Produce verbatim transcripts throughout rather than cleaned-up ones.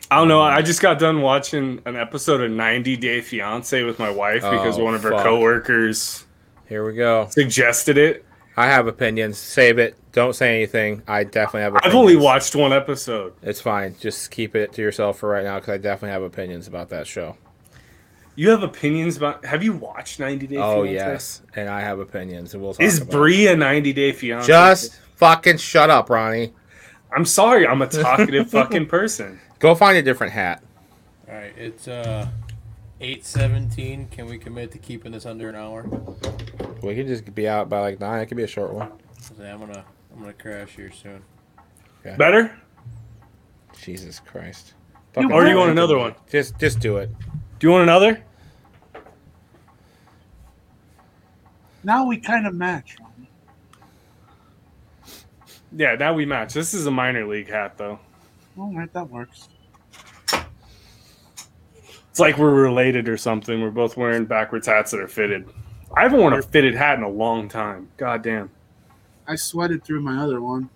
I don't know. I just got done watching an episode of ninety Day Fiancé with my wife because Oh, one of her fuck. coworkers Here we go. suggested it. I have opinions. Save it. Don't say anything. I definitely have opinions. I've only watched one episode. It's fine. Just keep it to yourself for right now because I definitely have opinions about that show. You have opinions about... Have you watched ninety Day Fiancé? Oh, yes. And I have opinions. And we'll talk Is about Bree a ninety Day Fiancé? Just fucking shut up, Ronnie. I'm sorry. I'm a talkative fucking person. Go find a different hat. All right, it's uh eight seventeen. Can we commit to keeping this under an hour? We could just be out by like nine. It could be a short one. I'm gonna I'm gonna crash here soon. Okay. Better? Jesus Christ. Or do you want another one? Just, just do it. Do you want another? Now we kind of match. Ronnie. Yeah, now we match. This is a minor league hat, though. All right, that works. It's like we're related or something. We're both wearing backwards hats that are fitted. I haven't worn a fitted hat in a long time. God damn. I sweated through my other one.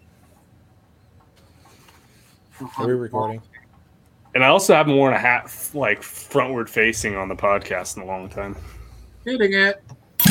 Are we recording? And I also haven't worn a hat like frontward facing on the podcast in a long time. Hitting it.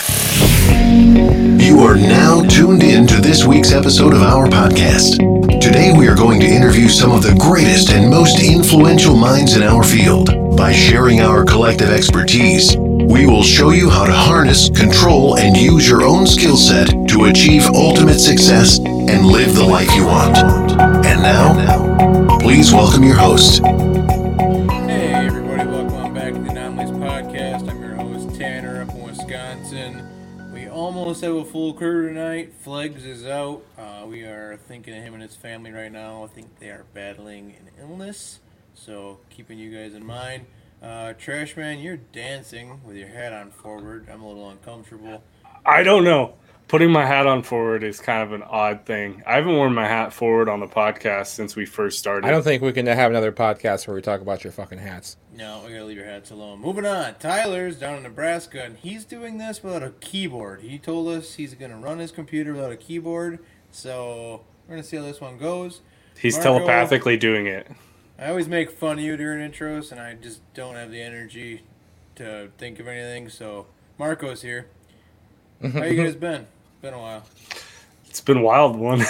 You are now tuned in to this week's episode of our podcast. Today we are going to interview some of the greatest and most influential minds in our field. By sharing our collective expertise, we will show you how to harness, control, and use your own skill set to achieve ultimate success and live the life you want. And now, please welcome your host. Hey everybody, welcome back to the Anomalies Podcast. I'm your host Tanner up in Wisconsin. We almost have a full crew tonight. Flegs is out. Uh, we are thinking of him and his family right now. I think they are battling an illness, so keeping you guys in mind. Uh, Trashman, you're dancing with your hat on forward. I'm a little uncomfortable. I don't know. Putting my hat on forward is kind of an odd thing. I haven't worn my hat forward on the podcast since we first started. I don't think we can have another podcast where we talk about your fucking hats. No, we gotta leave your hats alone. Moving on. Tyler's down in Nebraska, and he's doing this without a keyboard. He told us he's gonna run his computer without a keyboard, so we're gonna see how this one goes. He's Marco, telepathically doing it. I always make fun of you during intros, and I just don't have the energy to think of anything, so Marco's here. How you guys been? Been a while. It's been a wild one.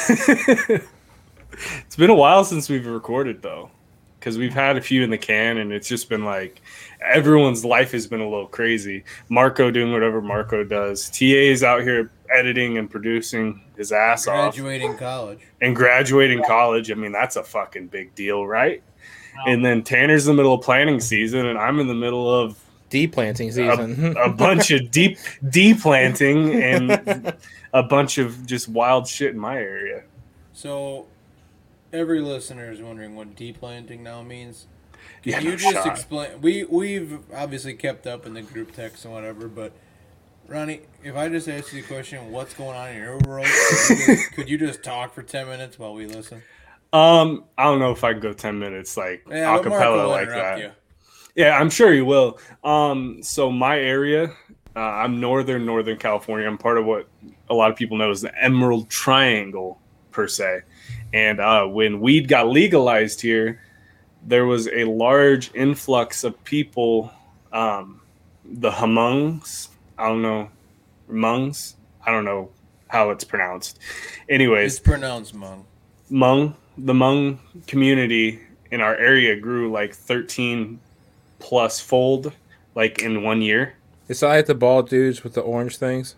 It's been a while since we've recorded, though, because we've had a few in the can, and it's just been like everyone's life has been a little crazy. Marco doing whatever Marco does. T A is out here editing and producing his ass off. Graduating college. And graduating college. I mean, that's a fucking big deal, right? And then Tanner's in the middle of planting season, and I'm in the middle of Deplanting season. a, a bunch of deep deplanting and a bunch of just wild shit in my area. So, every listener is wondering what deplanting now means. Can Yeah, you no just shot. explain? We we've obviously kept up in the group text and whatever, but Ronnie, if I just ask you the question, what's going on in your world? Could you just, could you just talk for ten minutes while we listen? Um, I don't know if I can go ten minutes like Yeah, but Marco acapella will like interrupt that. you. Yeah, I'm sure you will. Um, so my area, uh, I'm northern Northern California. I'm part of what a lot of people know as the Emerald Triangle per se. And uh, when weed got legalized here, there was a large influx of people. Um, the Hmongs, I don't know, Hmongs, I don't know how it's pronounced. Anyways, It's pronounced Hmong. Hmong, the Hmong community in our area grew like thirteen plus fold, like in one year. Is that like the bald dudes with the orange things?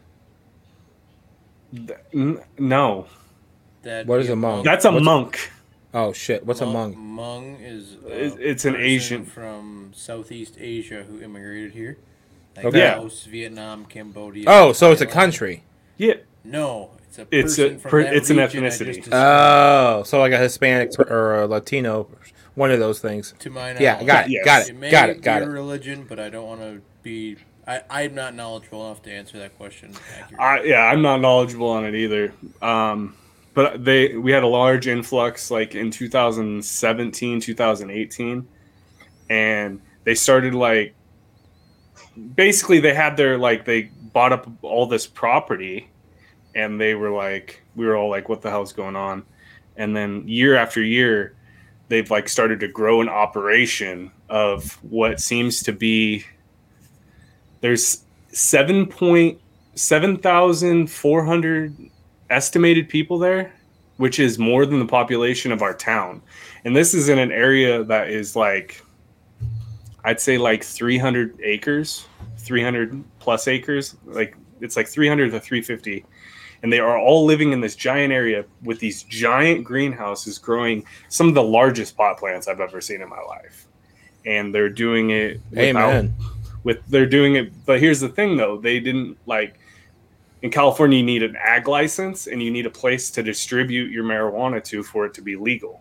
Th- n- No, That'd What be is a Hmong? that's a What's- monk. Oh, shit. What's a Hmong? Hmong? Hmong is uh, It's- it's an person Asian- from Southeast Asia who immigrated here. Like Okay. Yeah. Laos, Vietnam, Cambodia. Oh, so it's a Thailand. country. Yeah, No, it's a It's a person from per- that it's an region I ethnicity. just described. Oh, so like a Hispanic or a Latino, one of those things. To my knowledge. Yeah, got it, Yes. got It it, may got it, got be a it. religion, but I don't want to be. I, I'm not knowledgeable enough to answer that question accurately. I, yeah, I'm not knowledgeable on it either. Um, but they we had a large influx like in two thousand seventeen, two thousand eighteen, and they started like basically they had their like they bought up all this property, and they were like we were all like what the hell's going on, and then year after year they've like started to grow an operation of what seems to be there's seven point seven thousand four hundred estimated people there, which is more than the population of our town. And this is in an area that is like, I'd say like three hundred acres, three hundred plus acres. Like it's like three hundred to three fifty. And they are all living in this giant area with these giant greenhouses growing some of the largest pot plants I've ever seen in my life. And they're doing it without, Amen. with they're doing it. But here's the thing though, they didn't like in California, you need an ag license and you need a place to distribute your marijuana to for it to be legal.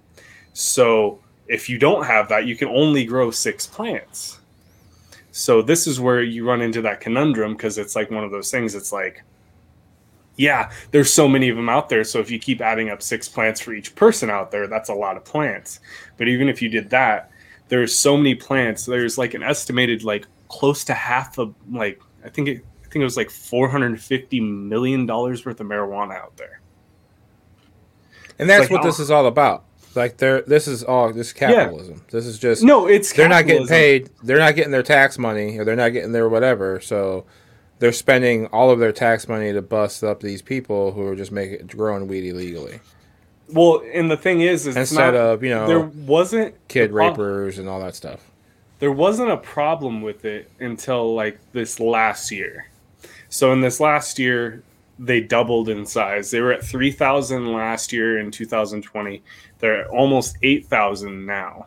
So if you don't have that, you can only grow six plants. So this is where you run into that conundrum because it's like one of those things. It's like, yeah, there's so many of them out there. So if you keep adding up six plants for each person out there, that's a lot of plants. But even if you did that, there's so many plants. There's like an estimated like close to half of like, I think it, I think it was like four hundred fifty million dollars worth of marijuana out there. And that's like, what oh. this is all about. Like they're this is all this is capitalism. Yeah. This is just no, it's they're capitalism. not getting paid. They're not getting their tax money, or they're not getting their whatever. So they're spending all of their tax money to bust up these people who are just making growing weed illegally. Well, and the thing is, is instead not, of you know there wasn't kid rapers and all that stuff. There wasn't a problem with it until like this last year. So in this last year, they doubled in size. They were at three thousand last year in two thousand twenty. They're at almost eight thousand now.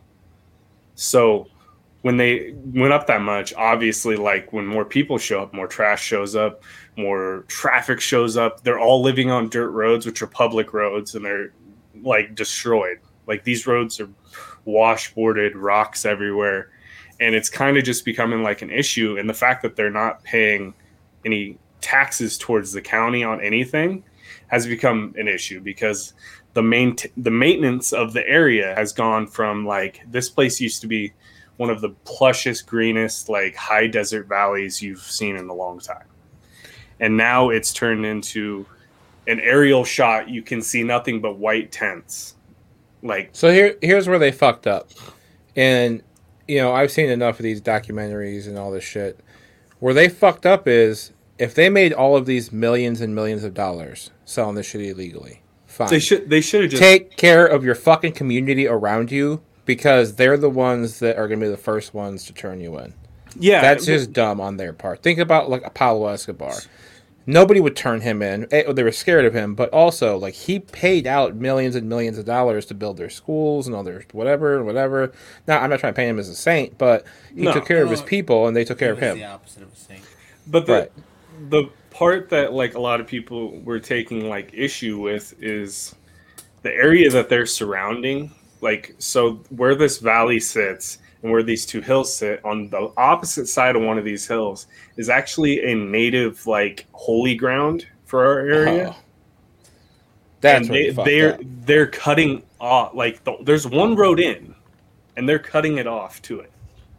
So when they went up that much, obviously, like when more people show up, more trash shows up, more traffic shows up. They're all living on dirt roads, which are public roads, and they're like destroyed. Like these roads are washboarded, rocks everywhere. And it's kind of just becoming like an issue. And the fact that they're not paying any taxes towards the county on anything has become an issue because the main the maintenance of the area has gone from like this place used to be one of the plushest, greenest, like high desert valleys you've seen in a long time. And now it's turned into an aerial shot. You can see nothing but white tents. Like so here here's where they fucked up. And you know, I've seen enough of these documentaries and all this shit. Where they fucked up is if they made all of these millions and millions of dollars selling this shit illegally, fine. They should they should have just take care of your fucking community around you because they're the ones that are going to be the first ones to turn you in. Yeah, that's just dumb on their part. Think about like Pablo Escobar. Nobody would turn him in. They were scared of him, but also like he paid out millions and millions of dollars to build their schools and all their whatever and whatever. Now I'm not trying to paint him as a saint, but he no, took care no, of his people and they took care of him. The opposite of a saint. But the right. the part that like a lot of people were taking like issue with is the area that they're surrounding. Like so, where this valley sits. And where these two hills sit on the opposite side of one of these hills is actually a native like holy ground for our area. Oh. That's and they, they're up. they're cutting off like the, there's one road in, and they're cutting it off to it.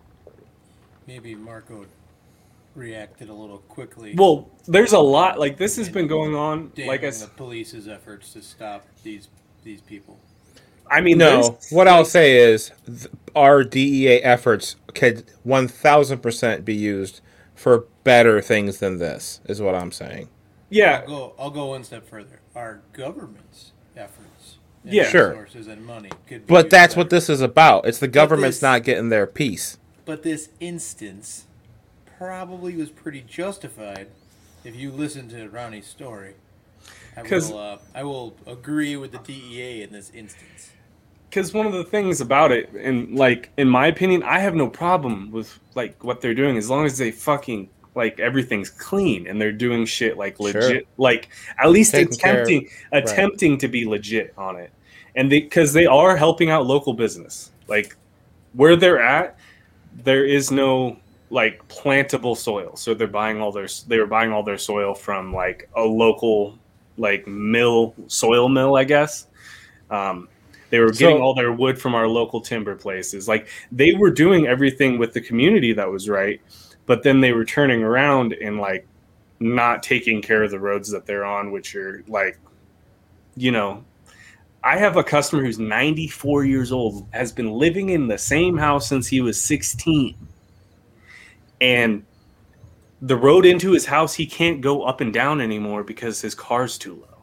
Maybe Marco reacted a little quickly. Well, there's a lot like this has been going on. Like I the police's efforts to stop these these people. I mean, no. What like, I'll say is, th- our D E A efforts could one thousand percent be used for better things than this. Is what I'm saying. Yeah, I'll go. I'll go one step further. Our government's efforts, and yeah, resources and money could. Be but that's better. what this is about. It's the government's this, not getting their piece. But this instance probably was pretty justified if you listen to Ronnie's story. I will, uh, I will agree with the D E A in this instance. Because one of the things about it, and like in my opinion, I have no problem with like what they're doing as long as they fucking like everything's clean and they're doing shit like legit, sure. like at least Taking attempting of, attempting right. to be legit on it, and they because they are helping out local business. Like where they're at, there is no like plantable soil, so they're buying all their they were buying all their soil from like a local like mill soil mill, I guess. Um, They were getting so, all their wood from our local timber places. Like they were doing everything with the community that was right, but then they were turning around and like not taking care of the roads that they're on, which are like, you know, I have a customer who's ninety-four years old, has been living in the same house since he was sixteen. And the road into his house, he can't go up and down anymore because his car's too low.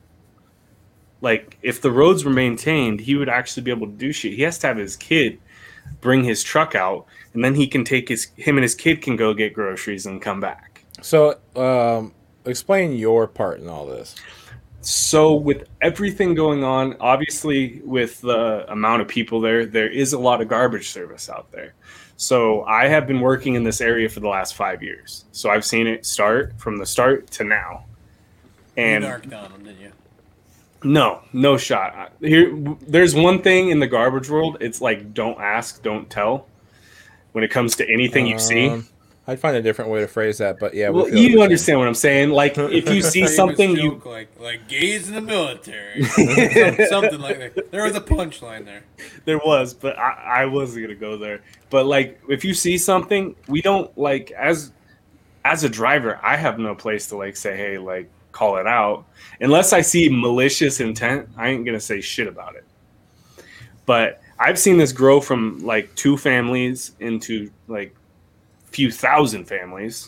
Like, if the roads were maintained, he would actually be able to do shit. He has to have his kid bring his truck out, and then he can take his him and his kid can go get groceries and come back. So, um, explain your part in all this. So, with everything going on, obviously, with the amount of people there, there is a lot of garbage service out there. So, I have been working in this area for the last five years. So, I've seen it start from the start to now. And you narked on them, didn't you? No, no shot. Here, there's one thing in the garbage world. It's like, don't ask, don't tell. When it comes to anything you see, Um, I'd find a different way to phrase that, but yeah, we well, feel you the understand what I'm saying. Like, if you see Famous something, you joke like like gays in the military, Some- something like that. There was a punchline there. there was, but I, I wasn't gonna go there. But like, if you see something, we don't like as as a driver. I have no place to like say, hey, like call it out, unless I see malicious intent. I ain't gonna say shit about it. But I've seen this grow from like two families into like few thousand families,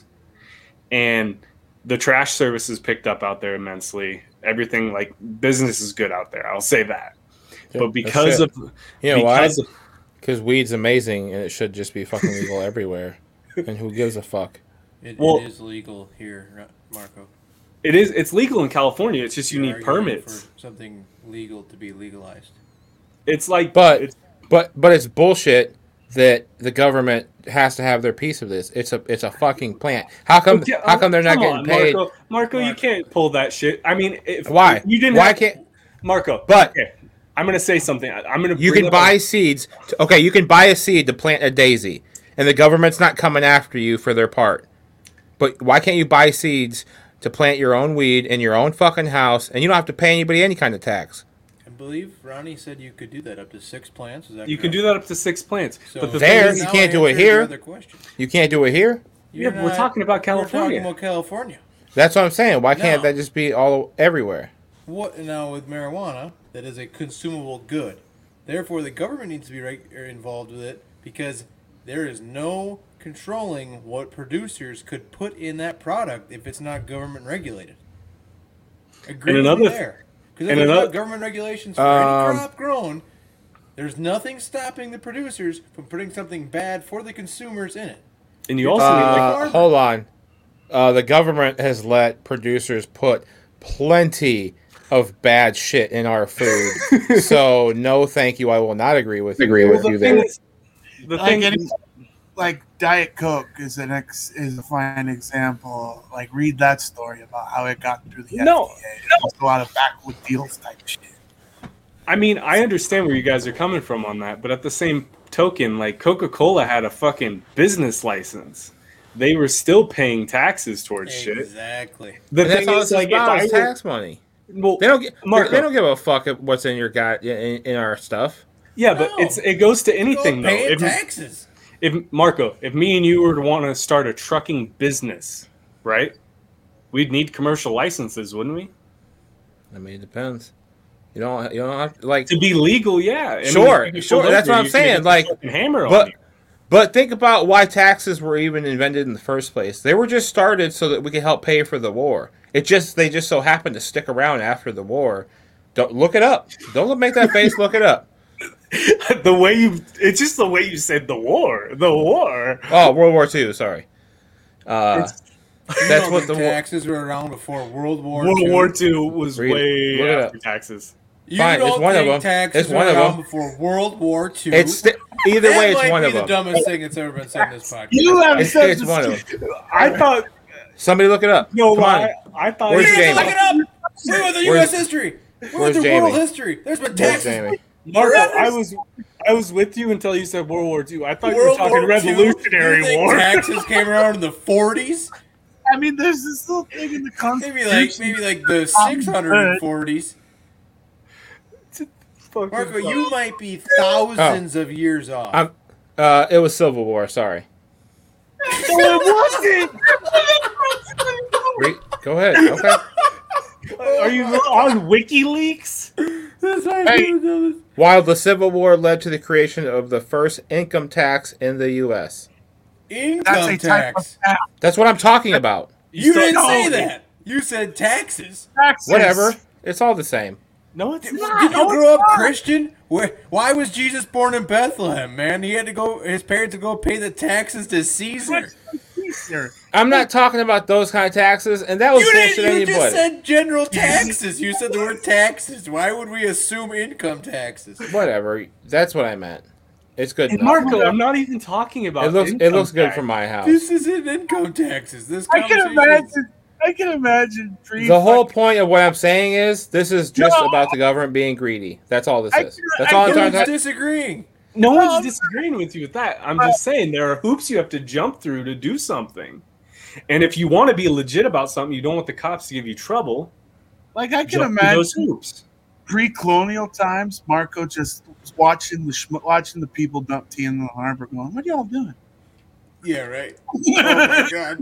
and the trash service is picked up out there immensely. Everything, like, business is good out there. I'll say that. Yeah, but because that's of it. You know why? because of, Because weed's amazing, and it should just be fucking legal everywhere. And who gives a fuck? It, Well- it is legal here, Ra- Marco. it is it's legal in California. It's just you You're need arguing permits. for something legal to be legalized. It's like, But it's, but but it's bullshit that the government has to have their piece of this. It's a it's a fucking plant. How come Okay, how come they're not come getting on, paid? Marco, Marco, you Marco. can't pull that shit. I mean, if Why? if you didn't. Why have, can't Marco? But- okay, I'm gonna say something. I- I'm gonna. you bring can up buy a- seeds? To, okay, you can buy a seed to plant a daisy, and the government's not coming after you for their part. But why can't you buy seeds to plant your own weed in your own fucking house, and you don't have to pay anybody any kind of tax? I believe Ronnie said you could do that up to six plants. Is that You can correct? do that up to six plants. So but the There, thing is, you now can't I do it answered your here. other question. You can't do it here. You're Yeah, we're talking about We're California. talking about California. That's what I'm saying. Why can't No. that just be all everywhere? What now with marijuana? That is a consumable good. Therefore, the government needs to be reg- er, involved with it because there is no controlling what producers could put in that product if it's not government regulated. Agree And with another me th- there. Because if and there's another- not government regulations for Um, any crop grown, there's nothing stopping the producers from putting something bad for the consumers in it. and you also need like Uh, farmer. hold on. Uh, the government has let producers put plenty of bad shit in our food. So no, thank you. I will not agree with agree Well, with the you thing there. is, the Like thing any- is, Like Diet Coke is an ex is a fine example. Like read that story about how it got through the No, F D A. It's a lot of backwood deals type shit. I mean, I understand where you guys are coming from on that, but at the same token, like Coca-Cola had a fucking business license. They were still paying taxes towards shit. Exactly. The And that's thing all is, it's like, if about I is were, tax money. well, They don't get. Marco. They don't give a fuck at what's in your guy in, in our stuff. yeah, but No. it's it goes to anything though. Paying If, taxes. if Marco, if me and you were to want to start a trucking business, right? We'd need commercial licenses, wouldn't we? I mean, it depends. You don't. You don't have like. To be legal, yeah. I mean, Sure, if you sure, pulled that's over, what I'm you're gonna saying, get the like, fucking hammer on but you. but think about why taxes were even invented in the first place. They were just started so that we could help pay for the war. It just they just so happened to stick around after the war. Don't look it up. Don't make that face. Look it up. the way you it's just the way you said the war. The war. Oh, World War Two. Sorry. Uh, It's- You that's know what the the war. taxes were around before World War World Two. War Two was Read it. way Look it after up. taxes. You Fine, don't it's one of think them. taxes It's one were of around them. before World War Two? It's sti- either that way. It's might one be of the them. dumbest thing that's ever been said in this podcast. You have It's, said it's this- one of them. I thought Somebody look it up. no, Come on. I, I thought Where's You Jamie? didn't look it up. We went through U Where's- S history. We where's went through Jamie? world history. There's been Where's taxes. Jamie? Marco, Forever. I was I was with you until you said World War Two. I thought you were World talking War Two. Revolutionary You think War. Taxes came around in the forties. I mean, there's this little thing in the Maybe Constitution. like maybe like the six hundred forties. Fucking Marco, fuck. you might be thousands of years off. I'm, uh, it was Civil War. Sorry. No, it wasn't. Re- Go ahead. Okay. Are you on WikiLeaks? That's why Hey. I'm doing this. While the Civil War led to the creation of the first income tax in the U S. That's Income a type of tax. tax. That's what I'm talking about. You still- didn't no, say you- that. You said taxes. Taxes. Whatever. It's all the same. No, it's Did not. you No, grow it's up not. Christian? Where? Why was Jesus born in Bethlehem, man? He had to go. His parents would go pay the taxes to Caesar. Easier. I'm not talking about those kind of taxes, and that was You bullshit didn't. You just anybody. said general taxes. You said the word taxes. Why would we assume income taxes? Whatever. That's what I meant. It's good And enough. Marco, I'm not even talking about. It looks it income looks good tax. from my house. This isn't income taxes. This I can conversation is- imagine. I can imagine. Pre- The whole point of what I'm saying is this is just No. about the government being greedy. That's all this I is. can- That's I all I'm can trying to Everyone's disagreeing. No No, one's disagreeing with you with that. I'm just saying there are hoops you have to jump through to do something. And if you want to be legit about something, you don't want the cops to give you trouble. Like I can Jump through those imagine hoops. pre-colonial times, Marco just watching the schm- watching the people dump tea in the harbor, going, "What are y'all doing?" Yeah, right. Oh my god.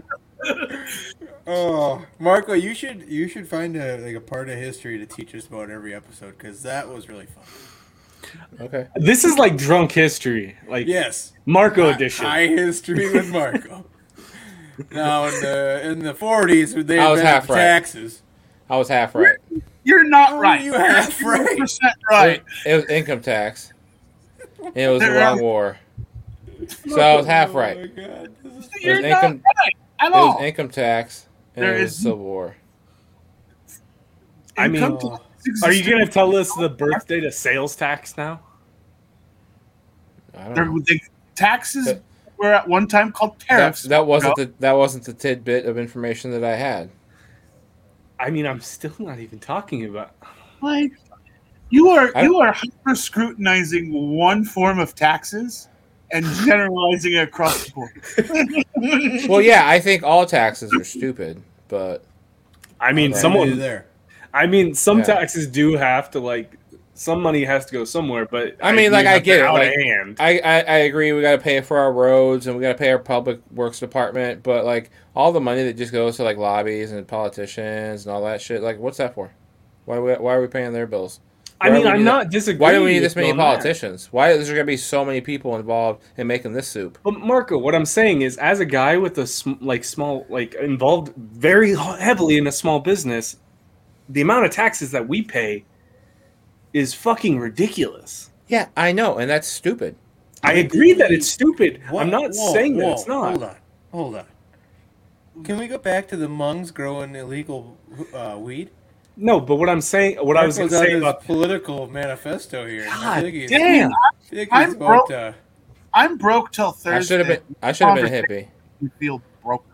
Oh, Marco, you should you should find a like a part of history to teach us about every episode because that was really fun. Okay. This is like drunk history, like Yes, Marco Hi- edition. High history with Marco. Now in the in the forties, they I was invented half right. taxes. I was half right. You're not Oh, right. you half You're right. percent right. It, it was income tax. And it was the There wrong are- war. So I was half Oh right. my god. This is- It You're was not income right at it all. was income tax and There it was is- Civil War. I mean, Income tax are you existed- going to tell us the birth date of sales tax now? I don't There- know. the taxes That- were at one time called That, tariffs. that wasn't No. the that wasn't the tidbit of information that I had. I mean, I'm still not even talking about. Like, you are I- you are hyper scrutinizing one form of taxes and generalizing it across the board. Well, yeah, I think all taxes are stupid, but I mean, Right. someone. there. I mean, some Yeah. taxes do have to like. Some money has to go somewhere, but I mean, like, agree I that get they're it, out like- of hand. I, I, I agree. We got to pay for our roads and we got to pay our public works department, but like all the money that just goes to like lobbies and politicians and all that shit, like what's that for? Why we, why are we paying their bills? I Why mean, do we I'm need not disagreeing. Why do we need with this many you on that. politicians? Why is there gonna be so many people involved in making this soup? But Marco, what I'm saying is, as a guy with a sm- like small, like involved very heavily in a small business, the amount of taxes that we pay is fucking ridiculous. Yeah, I know, and that's stupid. I agree that it's stupid. Whoa, I'm not whoa, saying that whoa, it's not. Hold on, hold on. Can we go back to the Hmongs growing illegal uh, weed? No, but what I'm saying, what I was going Marco's to on say his about political manifesto here. I God think he's, damn. I think I'm he's about, broke. uh, I'm broke till Thursday. I should have been. I should have been a hippie. You feel broke.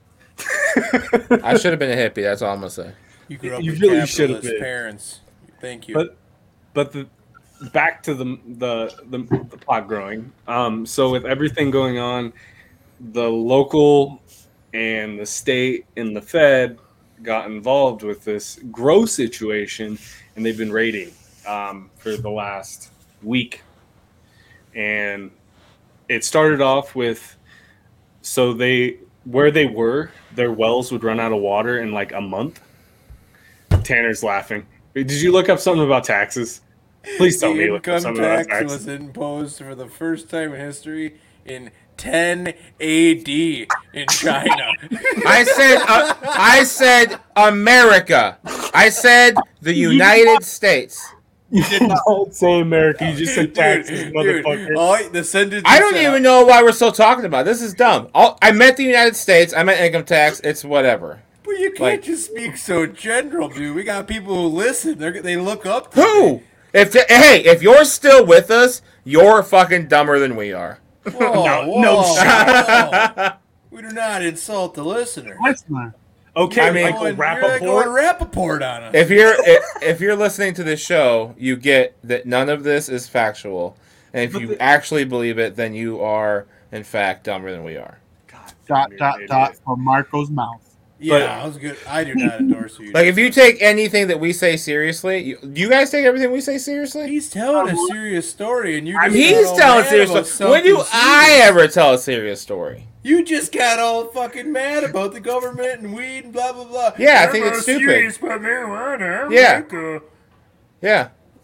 I should have been a hippie. That's all I'm gonna say. you grew up You with really should have capitalist been. parents. Thank you. But but the back to the the the, the pot growing. Um, so with everything going on, the local and the state and the Fed got involved with this grow situation, and they've been raiding um, for the last week. And it started off with so they where they were, their wells would run out of water in like a month. Tanner's laughing. Did you look up something about taxes? Please tell the me you looked up income something about tax taxes. was imposed for the first time in history in ten A D in China. I said. Uh, I said America. I said the United States. You did not say America. You just said taxes, Dude, motherfucker. dude, all, the sentence I you don't said- even know why we're still talking about it. This is dumb. All, I meant the United States. I meant income tax. It's whatever. But you can't Like- just speak so general, dude. We got people who listen. They they look up. To Who? me. If the, hey, if you're still with us, you're fucking dumber than we are. Whoa, No- whoa, no whoa. We do not insult the listener. Listener. Okay, I mean- Michael Going- you're going Rappaport. Rappaport on us. If you're if, if you're listening to this show, you get that none of this is factual, and if But you the- actually believe it, then you are in fact dumber than we are. Dot You're dot an dot idiot. from Marco's mouth. yeah, but- I was good. I do not endorse you. Like if you take anything that we say seriously, you, do you guys take everything we say seriously? He's telling a serious story, and you just He's got all telling mad serious about story. When do something I serious. ever tell a serious story? You just got all fucking mad about the government and weed and blah blah blah. Yeah, I I'm think not it's stupid. serious about marijuana. I'm Yeah. like, uh, Yeah.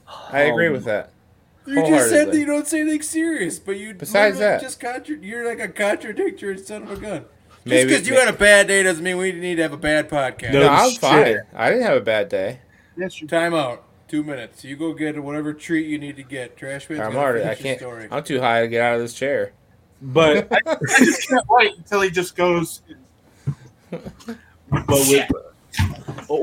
I agree with that. You just said Wholeheartedly. that you don't say anything serious, but you Besides literally that. just contra- you're like a contradictory son of a gun. Just Maybe- because you had a bad day doesn't mean we need to have a bad podcast. No. No, I'm shit. fine. I didn't have a bad day. Yes, you Time out. Two minutes. You go get whatever treat you need to get. Trash man's I'm gonna already. I finish your can't. story. I'm too high to get out of this chair. But I just can't wait until he just goes. but with oh.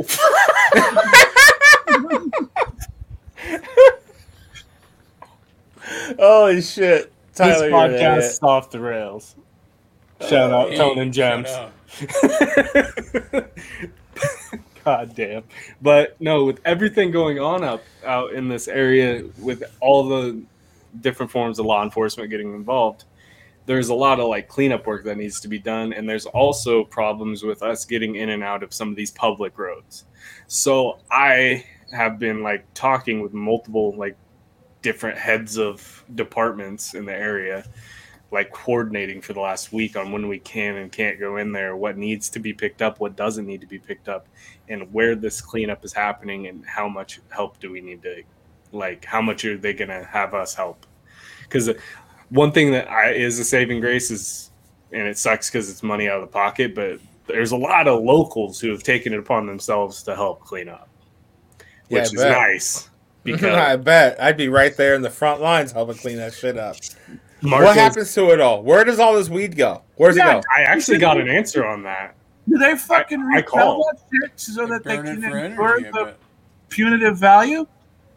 Holy shit! This Tyler, you're an podcast idiot. is off the rails. Shout out Hey, Tone and shut Gems. up. God damn. But no, with everything going on out out in this area, with all the different forms of law enforcement getting involved, there's a lot of like cleanup work that needs to be done, and there's also problems with us getting in and out of some of these public roads. So I have been like talking with multiple like different heads of departments in the area, like coordinating for the last week on when we can and can't go in there, what needs to be picked up, what doesn't need to be picked up, and where this cleanup is happening and how much help do we need to, like, how much are they going to have us help? Because one thing that I, is a saving grace is, and it sucks because it's money out of the pocket, but there's a lot of locals who have taken it upon themselves to help clean up, Yeah, which I is bet. nice. Because I bet I'd be right there in the front lines helping clean that shit up. Marcos- What happens to it all? Where does all this weed go? Where's Yeah, it go? I actually got an answer on that. Do they fucking I resell called. that shit so that they Burn it can for incur energy, I the bet. punitive value?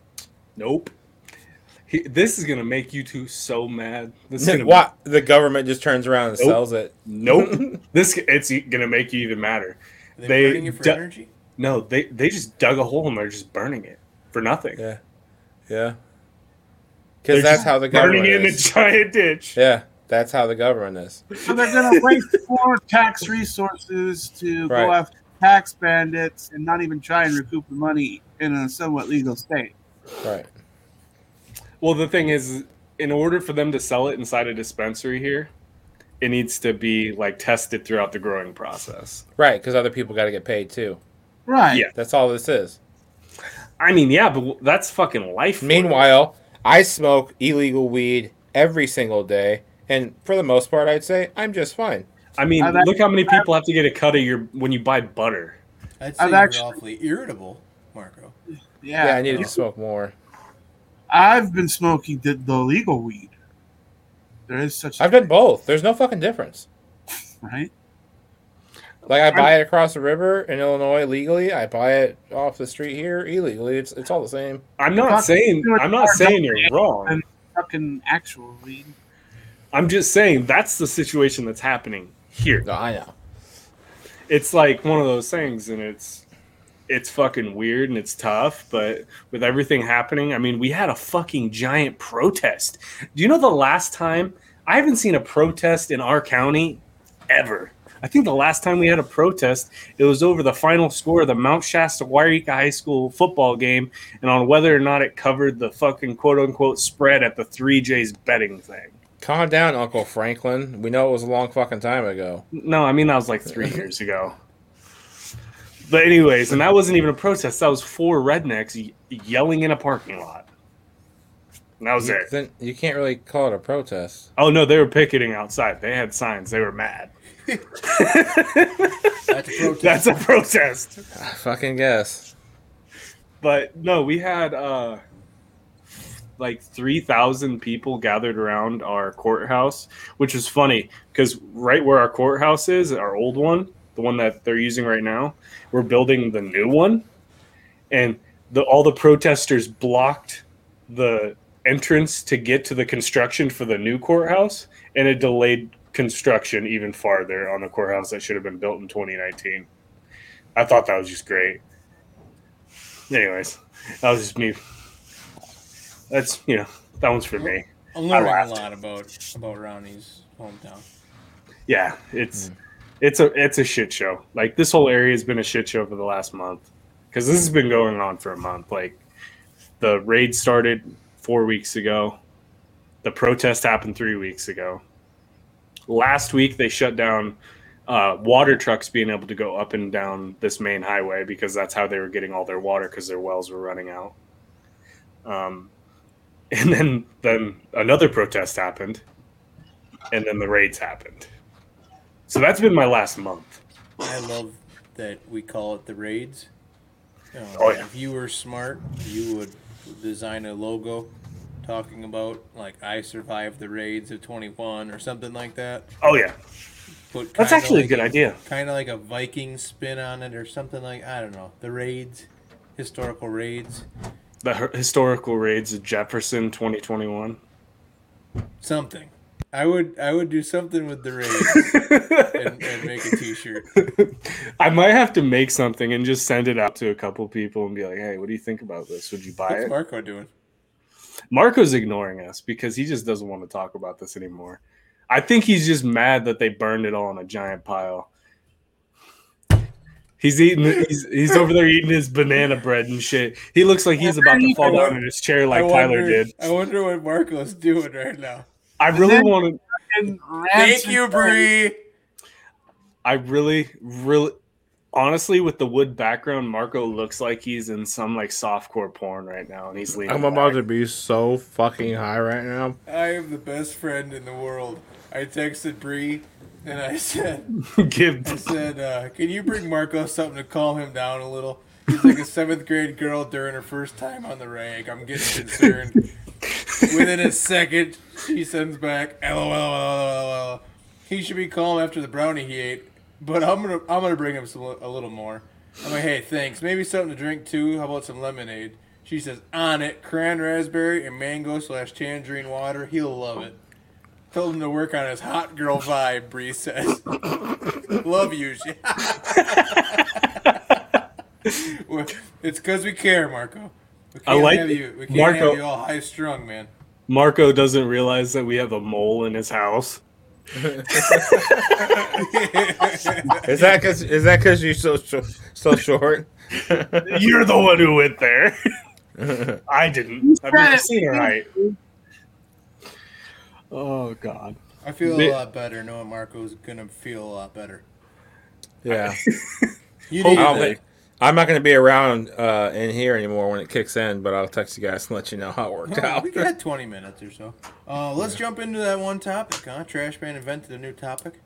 Nope. He, this is gonna make you two so mad. This is gonna What? The government just turns around and Nope. sells it. Nope. This it's gonna make you even madder. Are they, They burning it for du- energy? No, they they just dug a hole and they're just burning it for nothing. Yeah, yeah. They're Because that's just how the burning government it in a is. giant ditch. Yeah, that's how the government is. So they're going to waste more tax resources to go Right. after tax bandits and not even try and recoup the money in a somewhat legal state. Right. Well, the thing is, in order for them to sell it inside a dispensary here, it needs to be like tested throughout the growing process. Right, because other people got to get paid too. Right. Yeah. That's all this is. I mean, yeah, but that's fucking life. for them. Meanwhile, I smoke illegal weed every single day, and for the most part, I'd say I'm just fine. I mean, I've look how many people have to get a cut of your when you buy butter. I'd say I've you're actually- awfully irritable, Marco. Yeah. Yeah, I need to smoke more. I've been smoking the, the legal weed. There is such I've done both. There's no fucking difference. right? Like I buy it across the river in Illinois legally. I buy it off the street here illegally. It's it's all the same. I'm not Fuck, saying do it I'm not hard, saying don't you're wrong. And fucking actual weed. I'm just saying that's the situation that's happening here. No, I know. It's like one of those things, and it's it's fucking weird and it's tough. But with everything happening, I mean, we had a fucking giant protest. Do you know the last time? I haven't seen a protest in our county ever. I think the last time we had a protest, it was over the final score of the Mount Shasta Wairika High School football game, and on whether or not it covered the fucking quote unquote spread at the three J's betting thing. Calm down, Uncle Franklin. We know it was a long fucking time ago. No, I mean that was like three years ago. But anyways, and that wasn't even a protest. That was four rednecks y- yelling in a parking lot. And that was it. Then you can't really call it a protest. Oh no, they were picketing outside. They had signs. They were mad. That's a protest. That's a protest. I fucking guess. But no, we had uh, like three thousand people gathered around our courthouse, which is funny because right where our courthouse is, our old one, the one that they're using right now, we're building the new one. And the, all the protesters blocked the entrance to get to the construction for the new courthouse, and it delayed construction even farther on the courthouse that should have been built in twenty nineteen. I thought that was just great. Anyways, that was just me. That's, you know, that one's for me. I'm learning a laughed. lot about about Ronnie's hometown. Yeah, it's it's a it's a shit show. Like this whole area has been a shit show for the last month because this has been going on for a month. Like the raid started four weeks ago. The protest happened three weeks ago. Last week they shut down uh, water trucks being able to go up and down this main highway because that's how they were getting all their water because their wells were running out. Um, and then then another protest happened, and then the raids happened. So that's been my last month. I love that we call it the raids. You know, Oh, yeah. If you were smart, you would design a logo talking about, like, I survived the raids of twenty-one or something like that. Oh yeah, Put that's kinda actually like a good idea. Kind of like a Viking spin on it or something like, I don't know, the raids, historical raids, The her- historical raids of Jefferson twenty twenty-one. something. I would I would do something with the raids and, and make a t-shirt. I might have to make something and just send it out to a couple people and be like, "Hey, what do you think about this? Would you buy What's it?" Marco doing? Marco's ignoring us because he just doesn't want to talk about this anymore. I think he's just mad that they burned it all in a giant pile. He's eating. He's, he's over there eating his banana bread and shit. He looks like he's about to fall down in his chair like I Tyler wonder, did. I wonder what Marco's doing right now. I really want to. And Thank you, Bree. I really, really, honestly, with the wood background, Marco looks like he's in some like softcore porn right now, and he's leaning. I'm about back. to be so fucking high right now. I am the best friend in the world. I texted Bree and I said, Give. I said, uh, can you bring Marco something to calm him down a little? He's like a seventh grade girl during her first time on the rag. I'm getting concerned. Within a second, she sends back, LOL. He should be calm after the brownie he ate, but I'm gonna I'm gonna bring him some, a little more. I'm like, hey, thanks. Maybe something to drink too. How about some lemonade? She says, on it, cran raspberry and mango slash tangerine water. He'll love it. Told him to work on his hot girl vibe, Bree says. Love you. It's because we care, Marco. We I can't like have you. We can't Marco- have you all high strung, man. Marco doesn't realize that we have a mole in his house. Is that cause is that cause you're so so, so short? You're the one who went there. I didn't. I've never seen her height. Oh God. I feel a Bit- lot better knowing Marco's gonna feel a lot better. Yeah. You Hope- need I don't that. think- I'm not going to be around uh, in here anymore when it kicks in, but I'll text you guys and let you know how it worked Oh, out. we got twenty minutes or so. Uh, let's jump into that one topic, huh? Trash Man invented a new topic.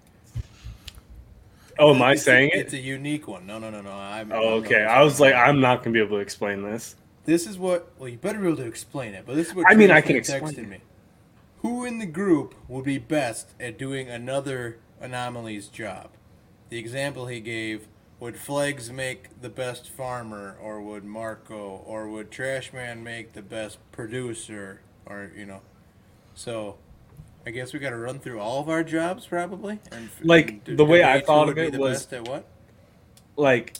Oh, am I It's a- saying it? It's a unique one. No, no, no, no. I'm, Oh, I'm okay. not I was saying like, it. I'm not gonna be able to explain this. This is what. Well, you better be able to explain it. But this is what. I mean, I Trash can Man explain texted it. me. Who in the group would be best at doing another Anomalies job? The example he gave: would Flegs make the best farmer, or would Marco, or would Trashman make the best producer, or you know? So, I guess we got to run through all of our jobs probably. And, Like, and the way I debate who thought would of be it the was- best at what? Like,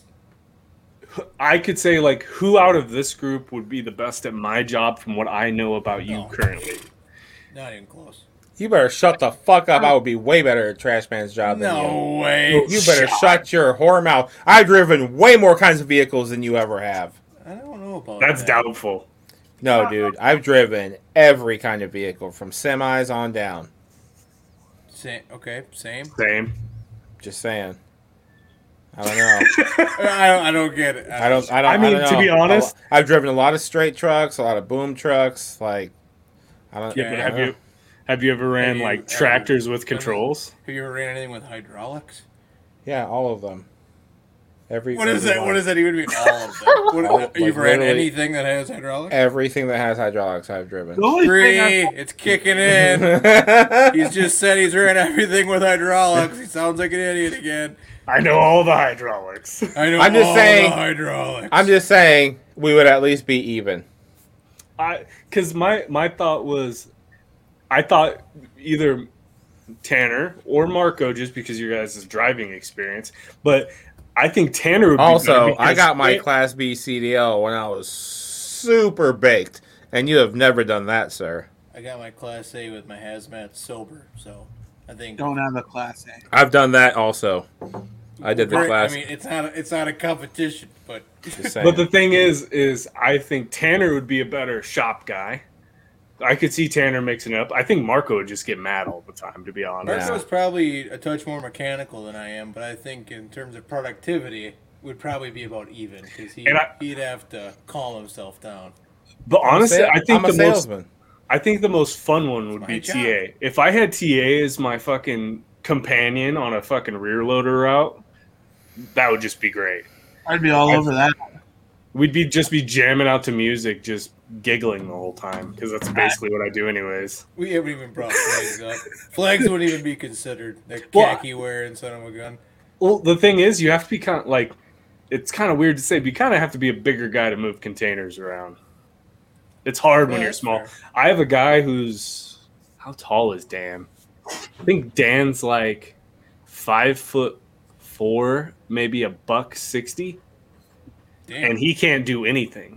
I could say like, who out of this group would be the best at my job from what I know about you No. currently? Not even close. You better shut the fuck up. I would be way better at Trash Man's job than you. No way. You better shut your whore mouth. I've driven way more kinds of vehicles than you ever have. I don't know about That's that. doubtful. No, dude. I've driven every kind of vehicle from semis on down. Same. Okay, same. Same. Just saying. I don't know. I don't. I don't get it. I don't. I don't. I mean, don't to know. be honest- A lo- I've driven a lot of straight trucks, a lot of boom trucks. Like, I don't. Yeah, but I have don't you know. have you ever ran Have you- like have you- tractors with have you- controls? Have you ever ran anything with hydraulics? Yeah, all of them. Every. What is every that? one. What does that even mean? All of them. What, All- have like, you ever ran literally- anything that has hydraulics? Everything that has hydraulics, I've driven. The only Three. thing I- It's kicking in. He's just said he's ran everything with hydraulics. He sounds like an idiot again. I know all the hydraulics. I know I'm just all saying- the hydraulics. I'm just saying we would at least be even. I because my my thought was, I thought either Tanner or Marco, just because you guys' driving experience, but I think Tanner would be Also, better I because- got my Class B C D L when I was super baked, and you have never done that, sir. I got my Class A with my hazmat sober, so I think. don't have a class A. I've done that also. I did the Great. class. I mean, it's not. A, it's not a competition, but. just saying. But the thing is, is I think Tanner would be a better shop guy. I could see Tanner mixing it up. I think Marco would just get mad all the time, to be honest. Marco's probably a touch more mechanical than I am, but I think in terms of productivity, would probably be about even because he And I- he'd have to calm himself down. But honestly, I'm a, I think I'm a the salesman. most I think the most fun one would my be job. T A. If I had T A as my fucking companion on a fucking rear loader route, that would just be great. I'd be all I'd- over that. We'd be just be jamming out to music, just giggling the whole time because that's basically what I do anyways. We haven't even brought flags up. Flags wouldn't even be considered. That Well, khaki wearing son of a gun. Well, the thing is, you have to be kind of like, it's kind of weird to say, but you kind of have to be a bigger guy to move containers around. It's hard when Yeah, you're that's small. fair. I have a guy who's, how tall is Dan? I think Dan's like five foot four, maybe a buck sixty, Damn. and he can't do anything.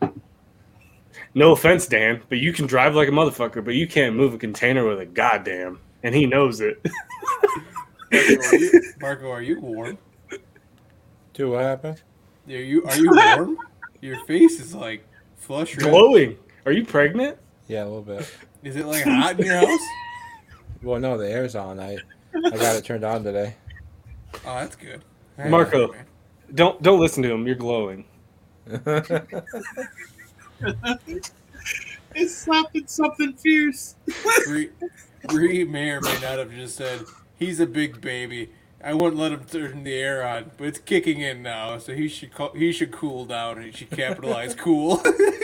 No offense, Dan, but you can drive like a motherfucker, but you can't move a container with a goddamn, and he knows it. Marco, are you, Marco, are you warm? Dude, what happened? Are you are you warm? Your face is like flush red. Glowing. Are you pregnant? Yeah, a little bit. Is it like hot in your house? Well, no, the air's on. I I got it turned on today. Oh, that's good. All right, Marco. man. Don't don't listen to him. You're glowing. It's something, something fierce. Bree, Bree may or may not have just said he's a big baby. I wouldn't let him turn the air on, but it's kicking in now, so he should co- he should cool down and he should capitalize cool.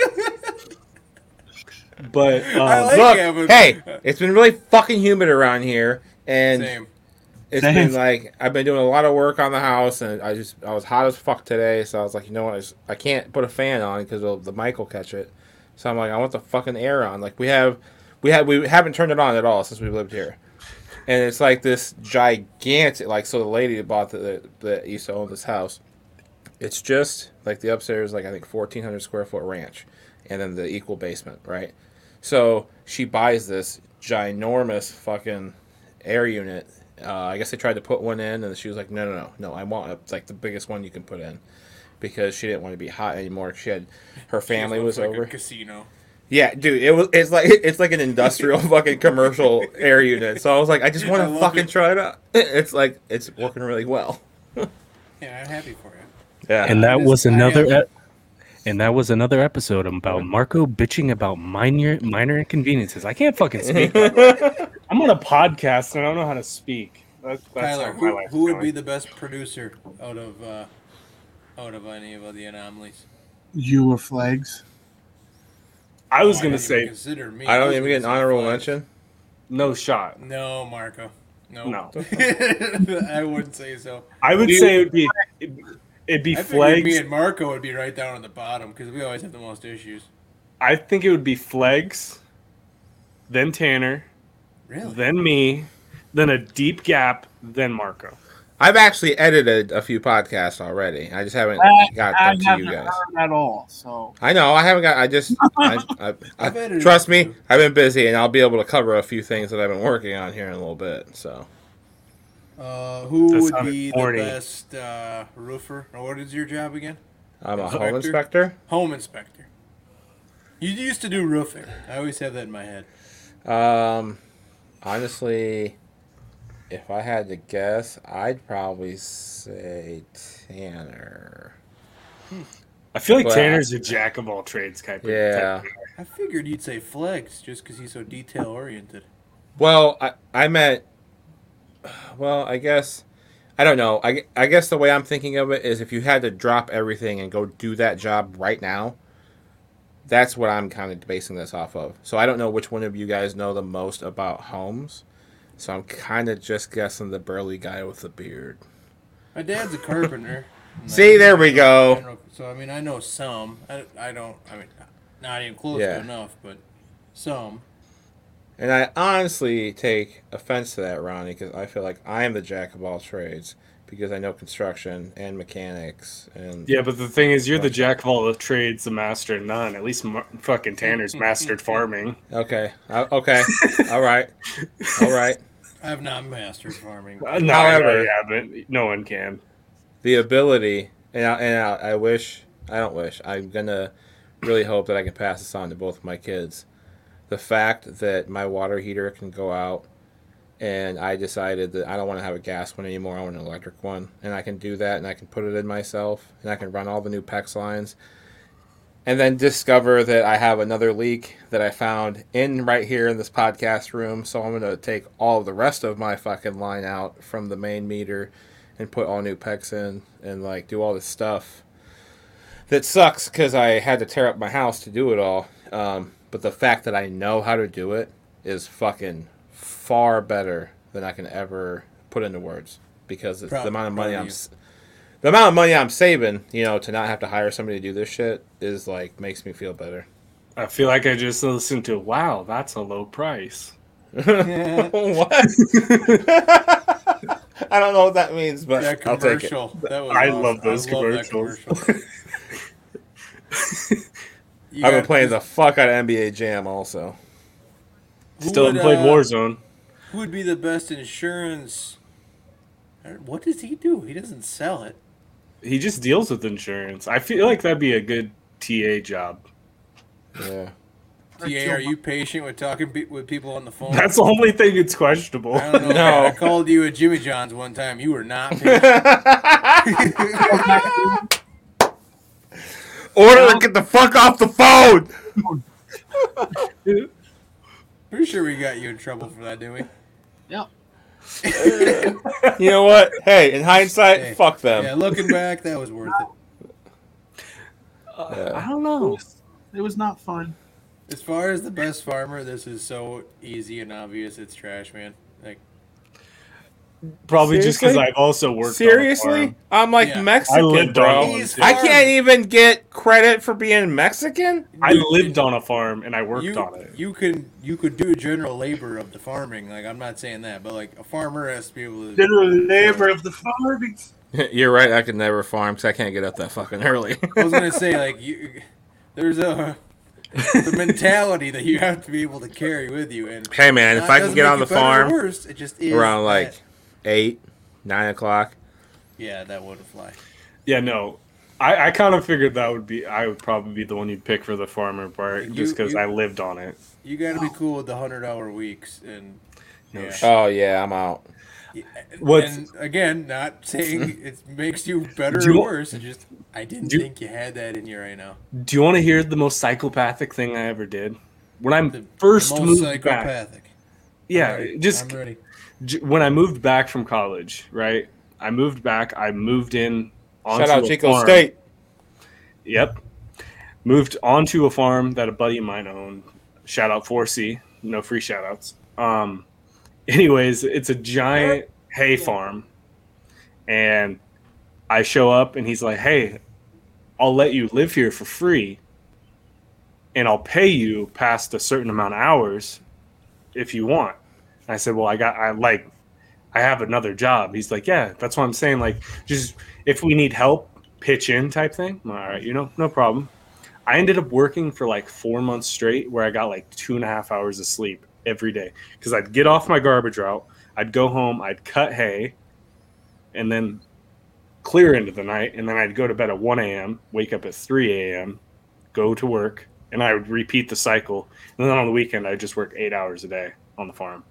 But um, I like Look, having- hey, it's been really fucking humid around here, and Same. it's Same. been like I've been doing a lot of work on the house, and I just I was hot as fuck today, so I was like, you know what, I, just, I can't put a fan on because the mic will catch it. So I'm like, I want the fucking air on. Like we have, we have, we haven't turned it on at all since we lived here, and it's like this gigantic, like so the lady that bought the that used to own this house, it's just like the upstairs, like I think fourteen hundred square foot ranch, and then the equal basement, right? So she buys this ginormous fucking air unit. Uh, I guess they tried to put one in, and she was like, "No, no, no, no! I want it's like the biggest one you can put in," because she didn't want to be hot anymore. She had her family was like over. a casino. Yeah, dude, it was it's like it's like an industrial fucking commercial air unit. So I was like, I just want I to love fucking it. try it out. It's like it's working really well. Yeah, I'm happy for you. Yeah, And that It is- was I another am- e- and that was another episode about Marco bitching about minor minor inconveniences. I can't fucking speak. I'm on a podcast and I don't know how to speak. That, that's Tyler, how my who, life's who would going. be the best producer out of uh, out of any of the anomalies? You or flags? I was Oh, gonna didn't say consider me. I don't was even gonna get an say honorable Flags. mention. no shot. No, Marco. No. No. I wouldn't say so. I would You- say it would be it'd, it'd be I figured me Flags. and Marco would be right down on the bottom because we always have the most issues. I think it would be Flags, then Tanner, Really? then me, then a deep gap, then Marco. I've actually edited a few podcasts already. I just haven't I, got I them to haven't you guys. heard at all. So I know I haven't got. I just, I, I, I've I, edited trust a me, few. I've been busy, and I'll be able to cover a few things that I've been working on here in a little bit. So Uh, who That would sounded be corny. the best uh, roofer? Or what is your job again? I'm a Inspector? home inspector. Home inspector. You used to do roofing. I always have that in my head. Um, honestly, if I had to guess, I'd probably say Tanner. I feel like Well, Tanner's a jack of all trades type. of- Yeah. type I figured you'd say Flex just because he's so detail oriented. Well, I I meant. Well, I guess. I don't know. I, I guess the way I'm thinking of it is if you had to drop everything and go do that job right now, that's what I'm kind of basing this off of. So I don't know which one of you guys know the most about homes. So I'm kind of just guessing the burly guy with the beard. My dad's a carpenter. and See, I- there we I go. know- So I mean, I know some. I, I don't. I mean, not even close Yeah. to enough, but some. And I honestly take offense to that, Ronnie, because I feel like I am the jack of all trades because I know construction and mechanics and Yeah, but the thing is, you're the jack of all the trades, the master of none. At least Mar- fucking Tanner's mastered farming. Okay. Uh, okay. All right. All right. I have not mastered farming. Uh, no, However- yeah, but no one can. The ability, and I, and I, I wish, I don't wish, I'm gonna really hope that I can pass this on to both of my kids. The fact that my water heater can go out, and I decided that I don't want to have a gas one anymore. I want an electric one, and I can do that, and I can put it in myself, and I can run all the new PEX lines. and then discover that I have another leak that I found in right here in this podcast room. So I'm gonna take all of the rest of my fucking line out from the main meter and put all new P E Cs in and like do all this stuff. That sucks because I had to tear up my house to do it all. Um, but the fact that I know how to do it is fucking far better than I can ever put into words, because it's Proud- the amount of money proud of I'm you. s- the amount of money I'm saving, you know, to not have to hire somebody to do this shit is like makes me feel better. I feel like I just listened to, wow, that's a low price. What? I don't know what that means, but That I'll take it. commercial. That was I awesome. love those I love that commercials. commercial. You I've been got- playing the fuck out of N B A Jam also. who Still would, haven't played uh, Warzone. Who would be the best insurance? What does he do? He doesn't sell it. He just deals with insurance. I feel like that'd be a good T A job. Yeah. T A, are you patient with talking pe- with people on the phone? That's the only thing that's questionable. I don't know. No. I called you at Jimmy John's one time. You were not patient. Order to get the fuck off the phone. Pretty sure we got you in trouble for that, didn't we? Yeah. You know what? Hey, in hindsight, Hey, fuck them. Yeah, looking back, that was worth it. I don't know. It was not fun. As far as the best farmer, this is so easy and obvious. It's trash, man. Like, Probably just because Seriously? I've also worked. Seriously? On a farm. I'm like Yeah. Mexican, I lived bro. on one. He's too. I farm. can't even get credit for being Mexican. I Dude, lived on a farm and I worked you, on it. you can you could do general labor of the farming. Like, I'm not saying that, but like a farmer has to be able to. General labor of the farming. You're right. I could never farm because I can't get up that fucking early. I was gonna say like you, there's a the mentality that you have to be able to carry with you. And Hey, man, if that I can doesn't get make on you the better or farm worse, it just is around like that. eight, nine o'clock. Yeah, that wouldn't fly. Yeah, no. I, I kind of figured that would be, I would probably be the one you'd pick for the farmer part You- just because you- I lived on it. You got to be cool with the hundred hour weeks and. No yeah. shit. Oh yeah, I'm out. Yeah, What's- and again, not saying it makes you better Do or you- worse. It just I didn't do you- think you had that in you right now. Do you want to hear the most psychopathic thing I ever did? When I The, first the most moved back. psychopathic. Yeah, I'm ready. just I'm ready. j- when I moved back from college, right? I moved back. I moved in onto Shout out a Chico farm. State. Yep. Moved onto a farm that a buddy of mine owned. Shout out four C. No free shout outs. Um, anyways, it's a giant hay farm. And I show up and he's like, hey, I'll let you live here for free. And I'll pay you past a certain amount of hours if you want. And I said, well, I got, I like, I have another job. He's like, yeah, that's what I'm saying. Like, just if we need help, pitch in type thing. I'm, all right, you know, no problem. I ended up working for like four months straight where I got like two and a half hours of sleep every day because I'd get off my garbage route. I'd go home, I'd cut hay and then clear into the night. And then I'd go to bed at one a.m., wake up at three a.m., go to work, and I would repeat the cycle. And then on the weekend, I'd just work eight hours a day on the farm.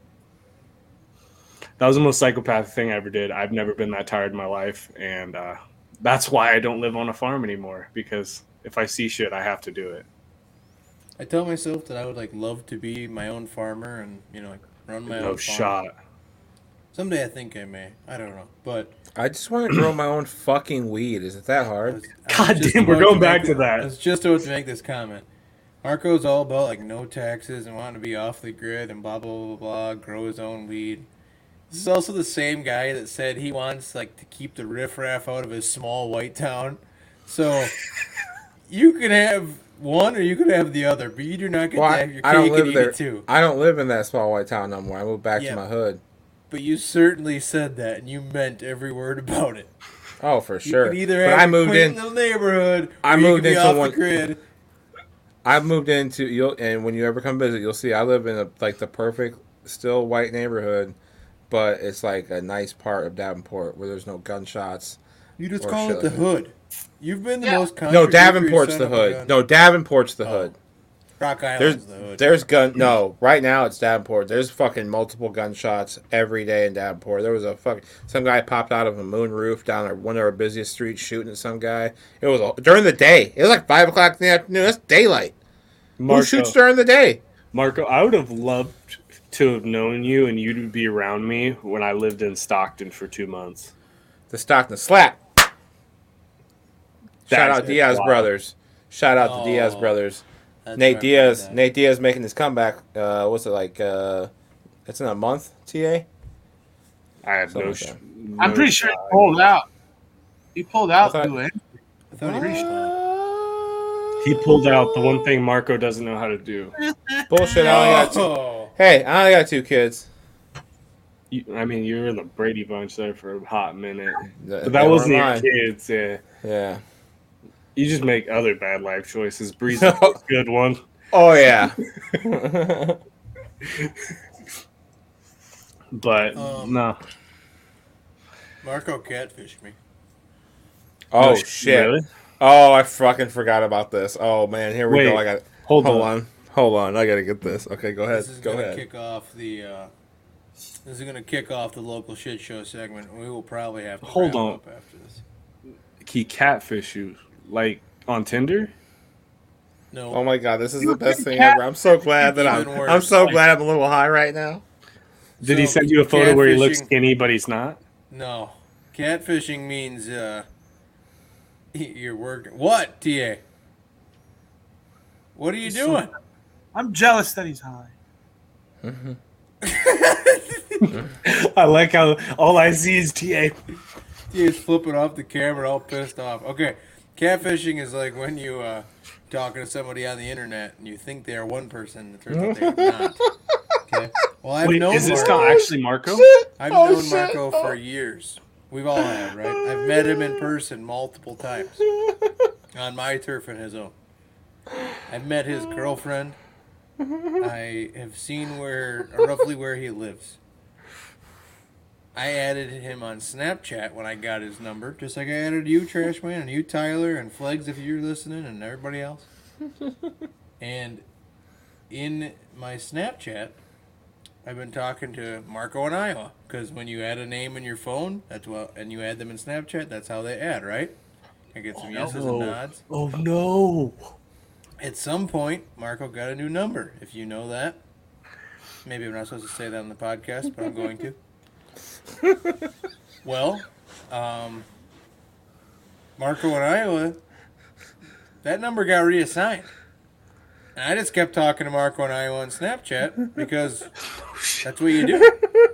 That was the most psychopathic thing I ever did. I've never been that tired in my life. And uh, that's why I don't live on a farm anymore, because if I see shit, I have to do it. I tell myself that I would like love to be my own farmer and you know like run my No own farm. shot. Someday I think I may. I don't know, but I just want to grow my own fucking weed. Is it that I hard? was, I God was just damn, we're about going make back to it- that. I was just about to make this comment. Marco's all about like no taxes and wanting to be off the grid and blah blah blah blah. Grow his own weed. This is also the same guy that said he wants like to keep the riffraff out of his small white town. So you can have one or you could have the other, but you do not get Well, to I, have your I don't cake and live eat there. it too. I don't live in that small white town no more. I moved back Yeah. to my hood. But you certainly said that, and you meant every word about it. Oh, for You sure. could either But have I your moved quaint in. little neighborhood, I or you moved could be into off one- the grid. I moved into you'll and when you ever come visit, you'll see I live in a like the perfect still white neighborhood, but it's like a nice part of Davenport where there's no gunshots. You just Or call shit it the like that. hood. You've been the Yeah. most No, contradictory Davenport's son the of a hood. gun. No, Davenport's the Oh. hood. Rock There's Island's the hood. there's gun. No, right now it's Davenport. There's fucking multiple gunshots every day in Davenport. There was a fucking some guy popped out of a moon roof down our, one of our busiest streets shooting at some guy. It was a, during the day. It was like five o'clock in the afternoon. That's daylight. Marco, Who shoots during the day? Marco, I would have loved to have known you and you to be around me when I lived in Stockton for two months. The Stockton slap. Shout That's out Diaz wild. brothers. Shout out Oh, to Diaz brothers. That's Nate right, Diaz. that. Nate Diaz making his comeback. Uh, what's it like? Uh, it's in a month. T A. I have no. Something Sh- like no I'm pretty sure he shot. pulled out. He pulled out. I thought- through it. I thought he reached that. He pulled out the one thing Marco doesn't know how to do. Bullshit. I only got two. Oh. Hey, I only got two kids. You, I mean, you were in the Brady Bunch there for a hot minute, Th- but they that wasn't weren't your mine. kids. Yeah, Yeah. you just make other bad life choices. Breeze is a good one. Oh yeah. But Um, no. Marco catfished me. oh No, shit. really? Oh, I fucking forgot about this. Oh man, here we Wait, go. I got. Hold, Hold on. on. Hold on. I gotta get this. Okay, go ahead. This is Go gonna ahead. kick off the. Uh, this is gonna kick off the local shit show segment. We will probably have to Hold wrap on. up after this. He catfish you like on Tinder. No, Oh my god, this is You the best think thing cat- ever. I'm so glad that I'm. Even worse. I'm so glad I'm a little high right now. Did he So, send you a photo where he looks catfishing- skinny but he's not? no. Catfishing means uh, you're working. What, T A? What are you doing? I'm jealous that he's high. I like how all I see is T A. T A's flipping off the camera, all pissed off. Okay, catfishing is like when you uh, talking to somebody on the internet and you think they are one person, it turns out they're not. Okay. Well, I've Wait, known is this Marco. not actually Marco? I've Oh, known shit. Marco for years. We've all have, right? I've met him in person multiple times on my turf and his own. I've met his girlfriend. I have seen where roughly where he lives. I added him on Snapchat when I got his number, just like I added you, Trash Man, and you, Tyler, and Flegs, if you're listening, and everybody else. And in my Snapchat, I've been talking to Marco in Iowa, because when you add a name in your phone, that's what, and you add them in Snapchat, that's how they add, right? I get some yeses and nods. Oh no! At some point, Marco got a new number, if you know that. Maybe I'm not supposed to say that on the podcast, but I'm going to. Well, um, Marco in Iowa, that number got reassigned. And I just kept talking to Marco in Iowa on Snapchat because that's what you do.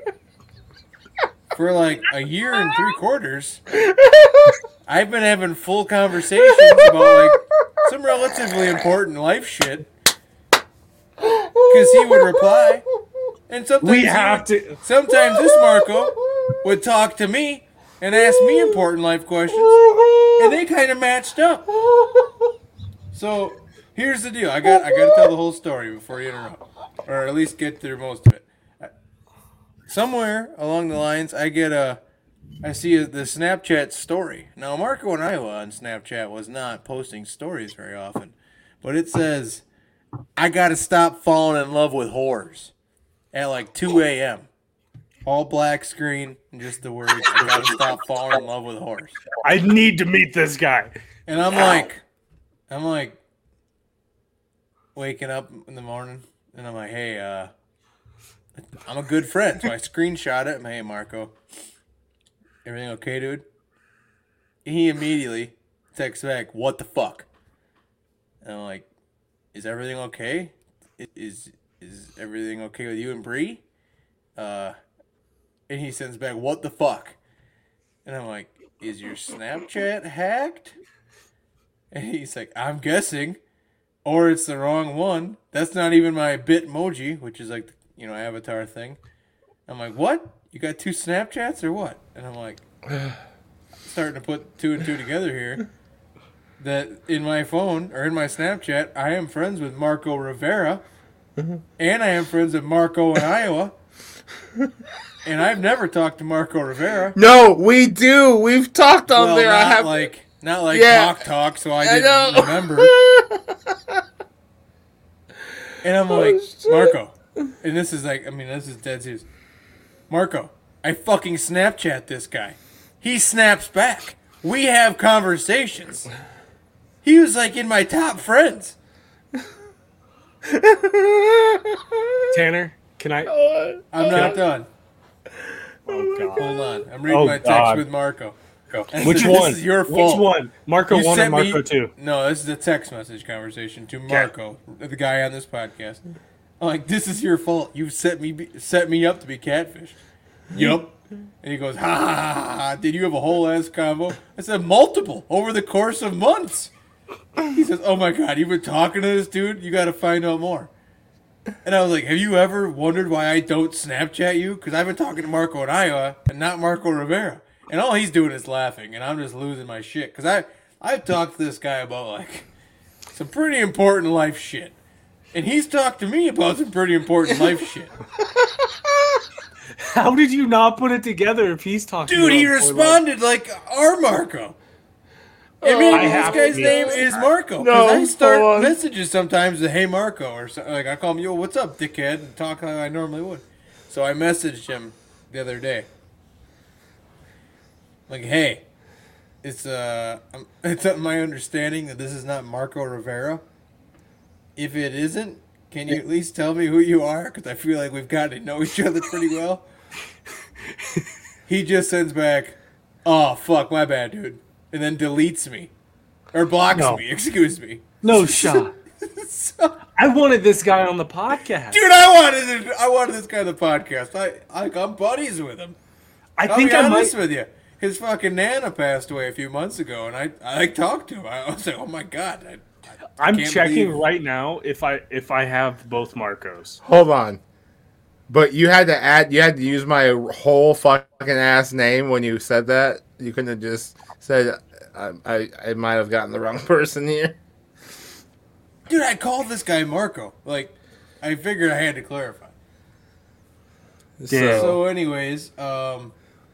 For like a year and three quarters, I've been having full conversations about like some relatively important life shit. Because he would reply. And sometimes We he have would- to. Sometimes this Marco would talk to me and ask me important life questions, and they kind of matched up. So here's the deal: I got I got to tell the whole story before you interrupt, or at least get through most of it. Somewhere along the lines, I get a, I see a, the Snapchat story. Now Marco in Iowa on Snapchat was not posting stories very often, but it says, "I got to stop falling in love with whores." At like two a.m. All black screen and just the words, I gotta stop falling in love with whores. I need to meet this guy. And I'm like, I'm like, waking up in the morning and I'm like, hey, uh, I'm a good friend. So I screenshot it. I'm, hey, Marco, everything okay, dude? He immediately texts back, what the fuck? And I'm like, is everything okay? Is is everything okay with you and Bree? Uh, and he sends back, what the fuck? And I'm like, is your Snapchat hacked? And he's like, I'm guessing. Or it's the wrong one. That's not even my Bitmoji, which is like, you know, avatar thing. I'm like, what? You got two Snapchats or what? And I'm like, starting to put two and two together here. That in my phone, or in my Snapchat, I am friends with Marco Rivera. And I am friends with Marco in Iowa. And I've never talked to Marco Rivera. No, we do. We've talked on Well, there. not I have. like not like Yeah. talk talk, so I I didn't know. remember. And I'm like, Marco. And this is like, I mean, this is dead serious. Marco, I fucking Snapchat this guy. He snaps back. We have conversations. He was like in my top friends. Tanner, can I? I'm not done. Oh, God. Hold on. I'm reading Oh, my text God. with Marco. Go. Which This one? is your fault. Which one? Marco You one or sent me- Marco two? No, this is a text message conversation to Marco, the guy on this podcast. I'm like, this is your fault. You set me be, set me up to be catfished. Yup. And he goes, ha ha ha ha ha. Did you have a whole ass combo? I said, multiple over the course of months. He says, oh my God, you've been talking to this dude? You got to find out more. And I was like, have you ever wondered why I don't Snapchat you? Because I've been talking to Marco in Iowa and not Marco Rivera. And all he's doing is laughing, and I'm just losing my shit. Because I, I've talked to this guy about, like, some pretty important life shit. And he's talked to me about some pretty important life shit. How did you not put it together if he's talking? Dude, he about responded like our Marco. I mean, I this have guy's to- name is Marco. No, Because I start hold on. messages sometimes to, hey, Marco. Or so, like, I call him, yo, what's up, dickhead? And talk how I normally would. So I messaged him the other day. Like, hey, it's uh, um, it's my understanding that this is not Marco Rivera. If it isn't, can you at least tell me who you are? Because I feel like we've gotten to know each other pretty well. He just sends back, oh, fuck, my bad, dude. And then deletes me. Or blocks No. me, excuse me. No shot. So, I wanted this guy on the podcast. dude, I wanted it, I wanted this guy on the podcast. I, I, I'm buddies with him. I I'll think be I honest might. with you. His fucking Nana passed away a few months ago, and I, I like, talked to him. I was like, oh my God. I, I'm can't checking believe- right now if I if I have both Marcos. Hold on. But you had to add, you had to use my whole fucking ass name when you said that. You couldn't have just said, I, I, I might have gotten the wrong person here. Dude, I called this guy Marco. Like, I figured I had to clarify. Damn. So, So, anyways, um,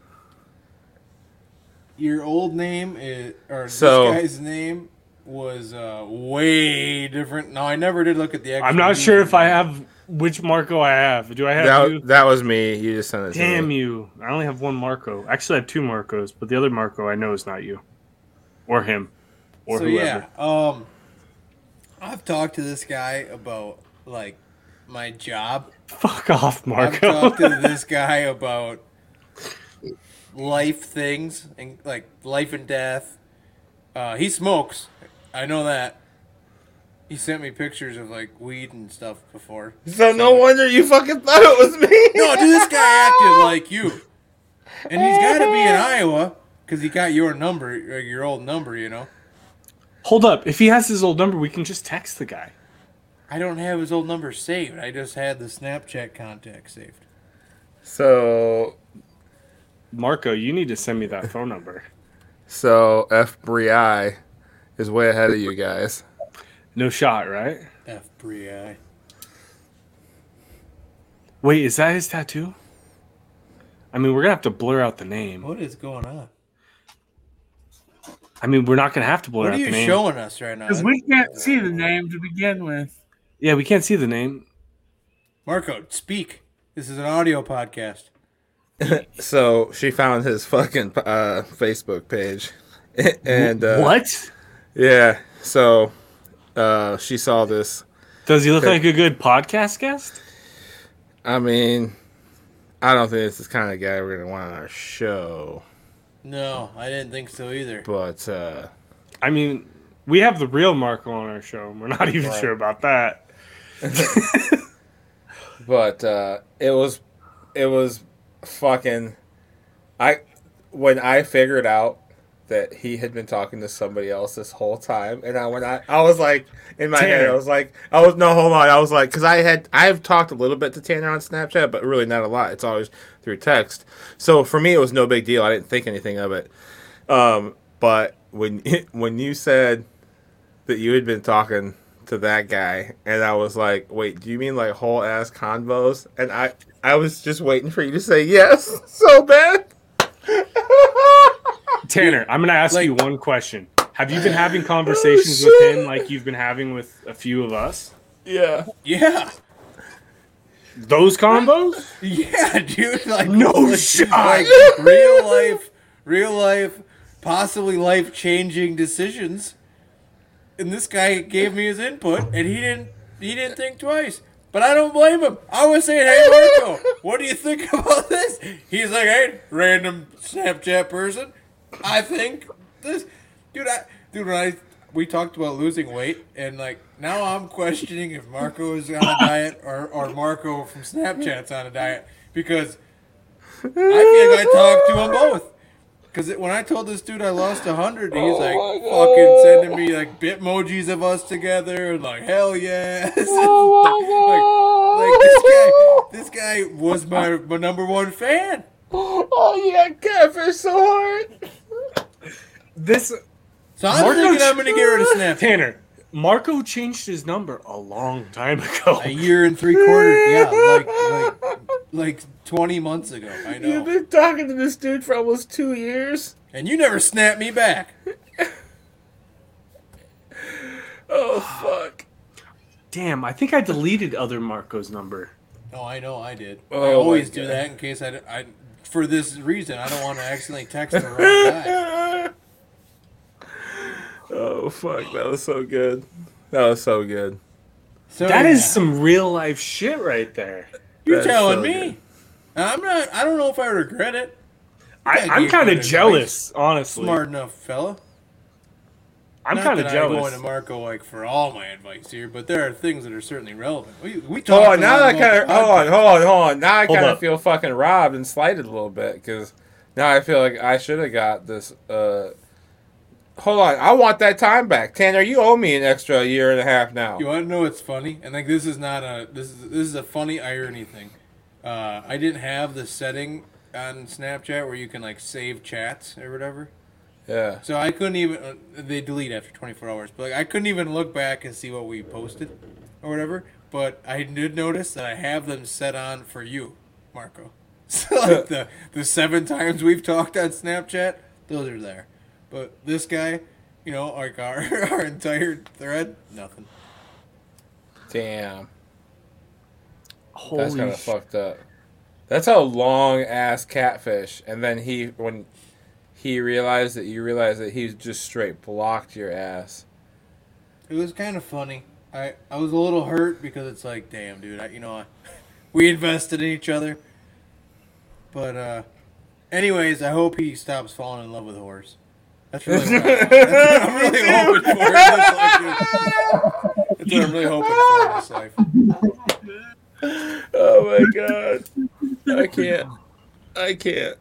your old name is, or So- this guy's name was uh, way different. No, I never did look at the. I'm actual not sure if I username. have which Marco I have. Do I have you? that, that was me. You just sent it to Damn me. you! I only have one Marco. Actually, I have two Marcos, but the other Marco I know is not you, or him, or So whoever. yeah, um, I've talked to this guy about like my job. Fuck off, I've Marco. talked to this guy about life things and like life and death. Uh, he smokes. I know that. He sent me pictures of like weed and stuff before. So no wonder you fucking thought it was me. No, dude, this guy acted like you. And he's got to be in Iowa because he got your number, or your old number, you know. Hold up. If he has his old number, we can just text the guy. I don't have his old number saved. I just had the Snapchat contact saved. So, Marco, you need to send me that phone number. so F Bri is way ahead of you guys. No shot, right? F Bri. Wait, is that his tattoo? I mean, we're gonna have to blur out the name. What is going on? I mean, we're not gonna have to blur What are out you the name. showing us right now? Because we can't see the name to begin with. Yeah, we can't see the name. Marco, speak. This is an audio podcast. So she found his fucking uh, Facebook page, and uh, What? Yeah. So uh, she saw this. Does he look like a good podcast guest? I mean, I don't think this is the kind of guy we're gonna want on our show. No, I didn't think so either. But uh, I mean, we have the real Marco on our show. and We're not even Right. sure about that. but uh, it was it was fucking. I when I figured out that he had been talking to somebody else this whole time, and I when I I was like in my head, I Tanner. was like, I was no hold on, I was like, because I had I've talked a little bit to Tanner on Snapchat, but really not a lot. It's always through text. So for me, it was no big deal. I didn't think anything of it. Um, but when when you said that you had been talking to that guy, and I was like, wait, do you mean like whole ass convos? And I I was just waiting for you to say yes so bad. Tanner, I'm going to ask Like- you one question. Have you been having conversations with him like you've been having with a few of us? Yeah. Yeah. Those combos? Yeah, dude. Like No like, shot. Like real life, real life, possibly life changing decisions. And this guy gave me his input, and he didn't. He didn't think twice. But I don't blame him. I was saying, "Hey, Marco, what do you think about this?" He's like, "Hey, random Snapchat person, I think this, dude. I, dude, when I we talked about losing weight, and like now I'm questioning if Marco is on a diet or or Marco from Snapchat's on a diet because I feel like I talked to them both. Because when I told this dude I lost a hundred, he's like fucking sending me like bitmojis of us together and like hell yes. like, like this guy, this guy was my my number one fan. Oh, you got catfish so hard. This So I'm Marco thinking I'm gonna get rid of Snapchat. Tanner, Marco changed his number a long time ago. A year and three quarters, yeah, like like like twenty months ago. I You've know. been talking to this dude for almost two years. And you never snapped me back. Oh, fuck. Damn, I think I deleted other Marco's number. Oh, I know I did. Oh, I always my do God. that in case I, I for this reason I don't want to accidentally text the wrong guy. Oh, fuck. That was so good. That was so good. So That yeah. is some real life shit right there. You're That's telling so me. good. I'm not. I don't know if I regret it. I, Yeah, I'm gave kind good of advice. jealous, honestly. Smart enough fella. I'm Not kind of that I'm jealous. going to Marco like for all my advice here, but there are things that are certainly relevant. We we Hold talked. on, a now lot I about kind the of hold on, podcast. hold on, hold on. Now I Hold kind of up. feel fucking robbed and slighted a little bit because now I feel like I should have got this. Uh, hold on, I want that time back, Tanner. You owe me an extra year and a half now. You want to know what's funny? And like this is not a this is this is a funny irony thing. Uh, I didn't have the setting on Snapchat where you can like save chats or whatever. Yeah. So I couldn't even. Uh, they delete after twenty-four hours, but like I couldn't even look back and see what we posted or whatever. But I did notice that I have them set on for you, Marco. So like the the seven times we've talked on Snapchat, those are there. But this guy, you know, like our our entire thread, nothing. Damn. Holy That's kind of sh- fucked up. That's a long ass catfish, and then he when he realized that you realized that he just straight blocked your ass. It was kind of funny. I, I was a little hurt because it's like, damn, dude, I, you know, I, we invested in each other. But, uh, anyways, I hope he stops falling in love with horse. That's really what, I, that's what I'm really hoping for in this life, dude. That's what I'm really hoping for in this life. Oh my god. I can't. I can't.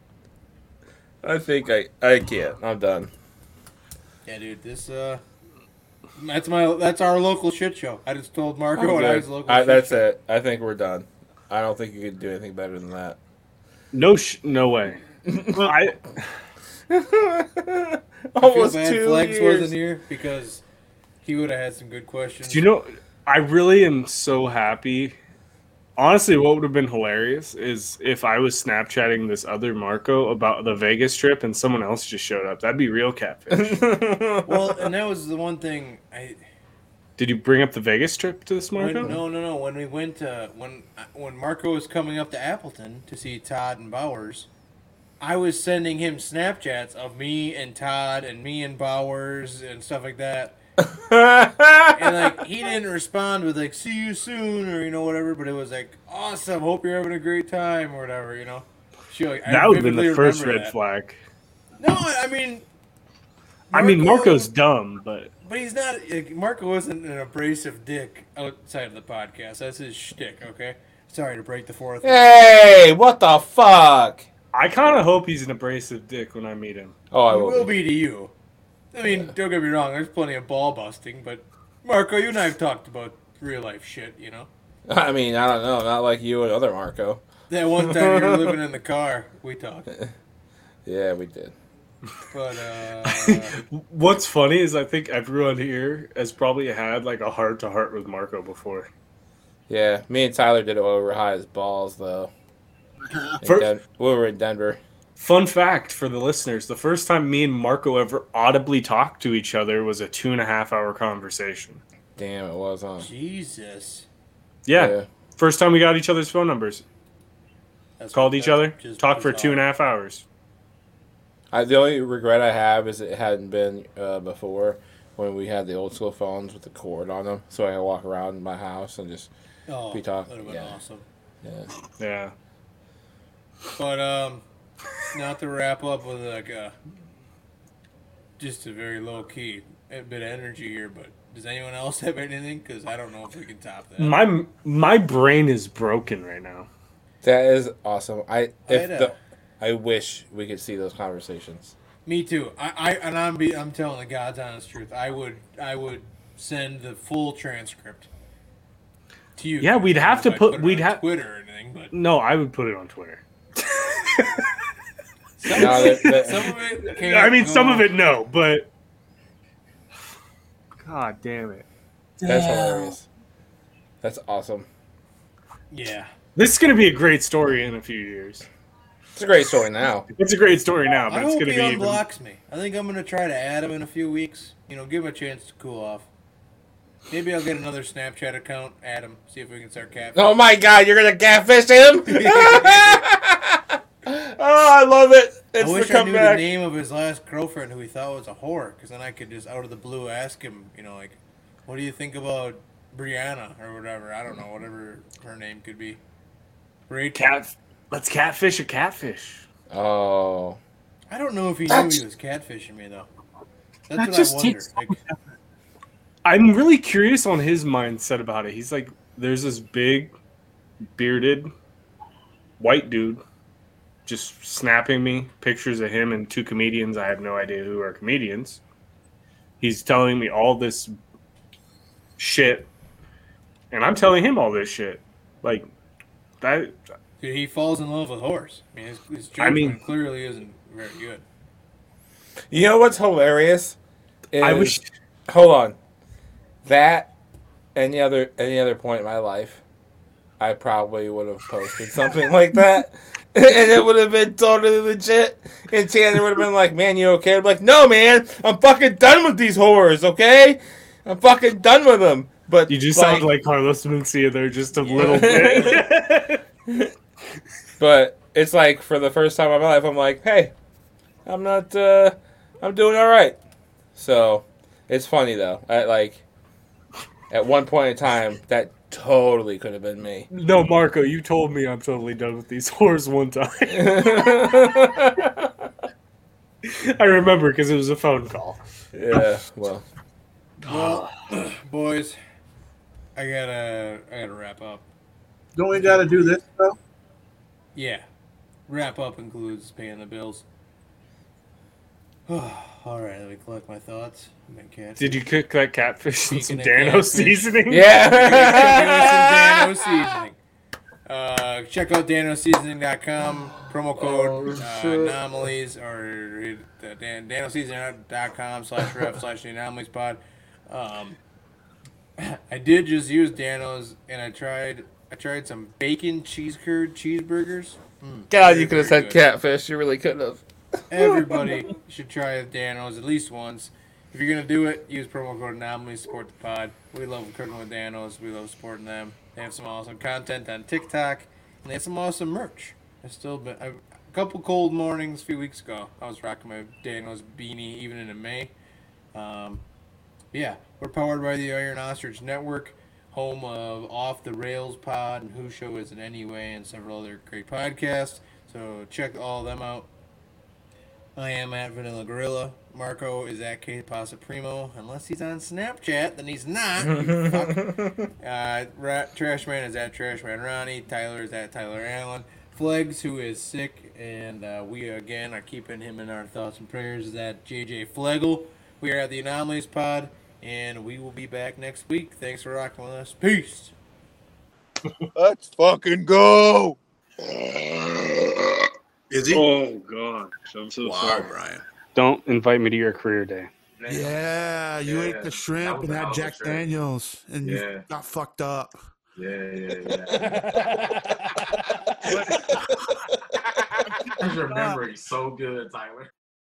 I think I I can't. I'm done. Yeah, dude, this, uh, that's my, that's our local shit show. I just told Marco I'm what I good. was local I, shit that's show. it. I think we're done. I don't think you could do anything better than that. No, sh- no way. I I feel Almost bad two Flex years. wasn't here because he would have had some good questions. Do you know? I really am so happy. Honestly, what would have been hilarious is if I was Snapchatting this other Marco about the Vegas trip and someone else just showed up. That'd be real catfish. Well, and that was the one thing I. Did you bring up the Vegas trip to this When, Marco? no, no, no. When we went to when when Marco was coming up to Appleton to see Todd and Bowers, I was sending him Snapchats of me and Todd and me and Bowers and stuff like that. And like he didn't respond with like "see you soon" or you know whatever, but it was like "awesome, hope you're having a great time" or whatever, you know. She, like, I That would have been vividly the first remember red that. flag. No, I mean. I mean, Marco- Marco's dumb, but But he's not. Like, Marco isn't an abrasive dick outside of the podcast. That's his shtick. Okay. Sorry to break the fourth. Hey, what the fuck? I kind of hope he's an abrasive dick when I meet him. Oh, I He will. will be to you. I mean, don't get me wrong. There's plenty of ball busting, but Marco, you and I have talked about real life shit. You know, I mean, I don't know. Not like you and other Marco. that one time you were living in the car, we talked. Yeah, we did. But uh, What's funny is I think everyone here has probably had like a heart to heart with Marco before. Yeah, me and Tyler did it while we were high as balls, though. In For- Den- we were in Denver. Fun fact for the listeners: the first time me and Marco ever audibly talked to each other was a two and a half hour conversation. Damn, it was, huh? Jesus. Yeah. Yeah. First time we got each other's phone numbers. That's Called what- each that's other. just Talked for bizarre. two and a half hours. I, the only regret I have is it hadn't been uh, before when we had the old school phones with the cord on them, so I could walk around my house and just Oh, be talking. that would have been Yeah. awesome. Yeah. Yeah. But um, not to wrap up with like a just a very low key a bit of energy here. But does anyone else have anything? Because I don't know if we can top that. My my brain is broken right now. That is awesome. I if I'd, uh, the I wish we could see those conversations. Me too. I, I and I'm be I'm telling the God's honest truth. I would I would send the full transcript to you. Yeah, we'd I don't have know to if I'd put- it we'd on have- Twitter or anything, but No, I would put it on Twitter. some, No, that- that- some of it. Can't I mean, some go- of it, no, but God damn it. That's hilarious. That's awesome. Yeah. This is going to be a great story in a few years. It's a great story now. It's a great story now, I but it's hope going he to be even... unblocks me. I think I'm gonna try to add him in a few weeks. You know, give him a chance to cool off. Maybe I'll get another Snapchat account, add him, see if we can start catfishing. Oh my God, you're gonna catfish him? Oh, I love it. It's I wish the I knew the comeback. name of his last girlfriend who he thought was a whore, because then I could just out of the blue ask him, you know, like, what do you think about Brianna or whatever? I don't know, whatever her name could be. Rachel. Cat... Let's catfish a catfish. Oh. I don't know if he knew he was catfishing me though. That's That what just I wonder. takes- Like, I'm really curious on his mindset about it. He's like, there's this big, bearded, white dude just snapping me pictures of him and two comedians. I have no idea who are comedians. He's telling me all this shit, and I'm telling him all this shit. Like, that... dude, he falls in love with horse. I mean, his, his I judgment mean- clearly isn't very good. You know what's hilarious? I Is- wish... Hold on. That, any other any other point in my life, I probably would have posted something like that. And it would have been totally legit. And Tanner would have been like, man, you okay? I'm like, no, man. I'm fucking done with these whores, okay? I'm fucking done with them. But You just like, sound like Carlos Mencia there just a little bit. But it's like, for the first time in my life, I'm like, hey, I'm not, uh, I'm doing all right. So, it's funny, though. I, like, at one point in time, that totally could have been me. No, Marco, you told me I'm totally done with these whores one time. I remember because it was a phone call. Yeah, well. Well, boys, I gotta I gotta wrap up. Don't we got to do this though? Yeah, wrap up includes paying the bills. All right, let me collect my thoughts. I'm gonna catch. Did you cook that catfish in some Speaking of Dano catfish. seasoning? Yeah! Dano seasoning. Uh, check out dano seasoning dot com. Promo code Oh, uh, shit. anomalies or uh, dan- dano seasoning dot com slash ref slash the anomalies pod. Um, I did just use Dano's and I tried I tried some bacon cheese curd cheeseburgers. Mm, God, very, you could have very said good. catfish. You really could have. Everybody should try Dano's at least once. If you're gonna do it, use promo code Anomalies, support the pod. We love cooking with Dano's. We love supporting them. They have some awesome content on TikTok, and they have some awesome merch. I've still been I've, a couple cold mornings a few weeks ago. I was rocking my Dano's beanie even into May. Um, yeah, we're powered by the Iron Ostrich Network, home of Off the Rails Pod and Who Show Is It Anyway, and several other great podcasts. So check all of them out. I am at Vanilla Gorilla. Marco is at K Pasa Primo. Unless he's on Snapchat, then he's not. You fuck. Uh, Ra- Trashman is at Trashman Ronnie. Tyler is at Tyler Allen. Flegs, who is sick, and uh, we again are keeping him in our thoughts and prayers, is at J J Flegel. We are at the Anomalies Pod, and we will be back next week. Thanks for rocking with us. Peace. Let's fucking go. Is he? Oh, God. I'm so Wow, Brian. Don't invite me to your career day. Yeah, you Yeah, ate the shrimp that was and a hell had of a Jack shrimp. Daniels, and Yeah. you got fucked up. Yeah, yeah, yeah. His memory so good, Tyler.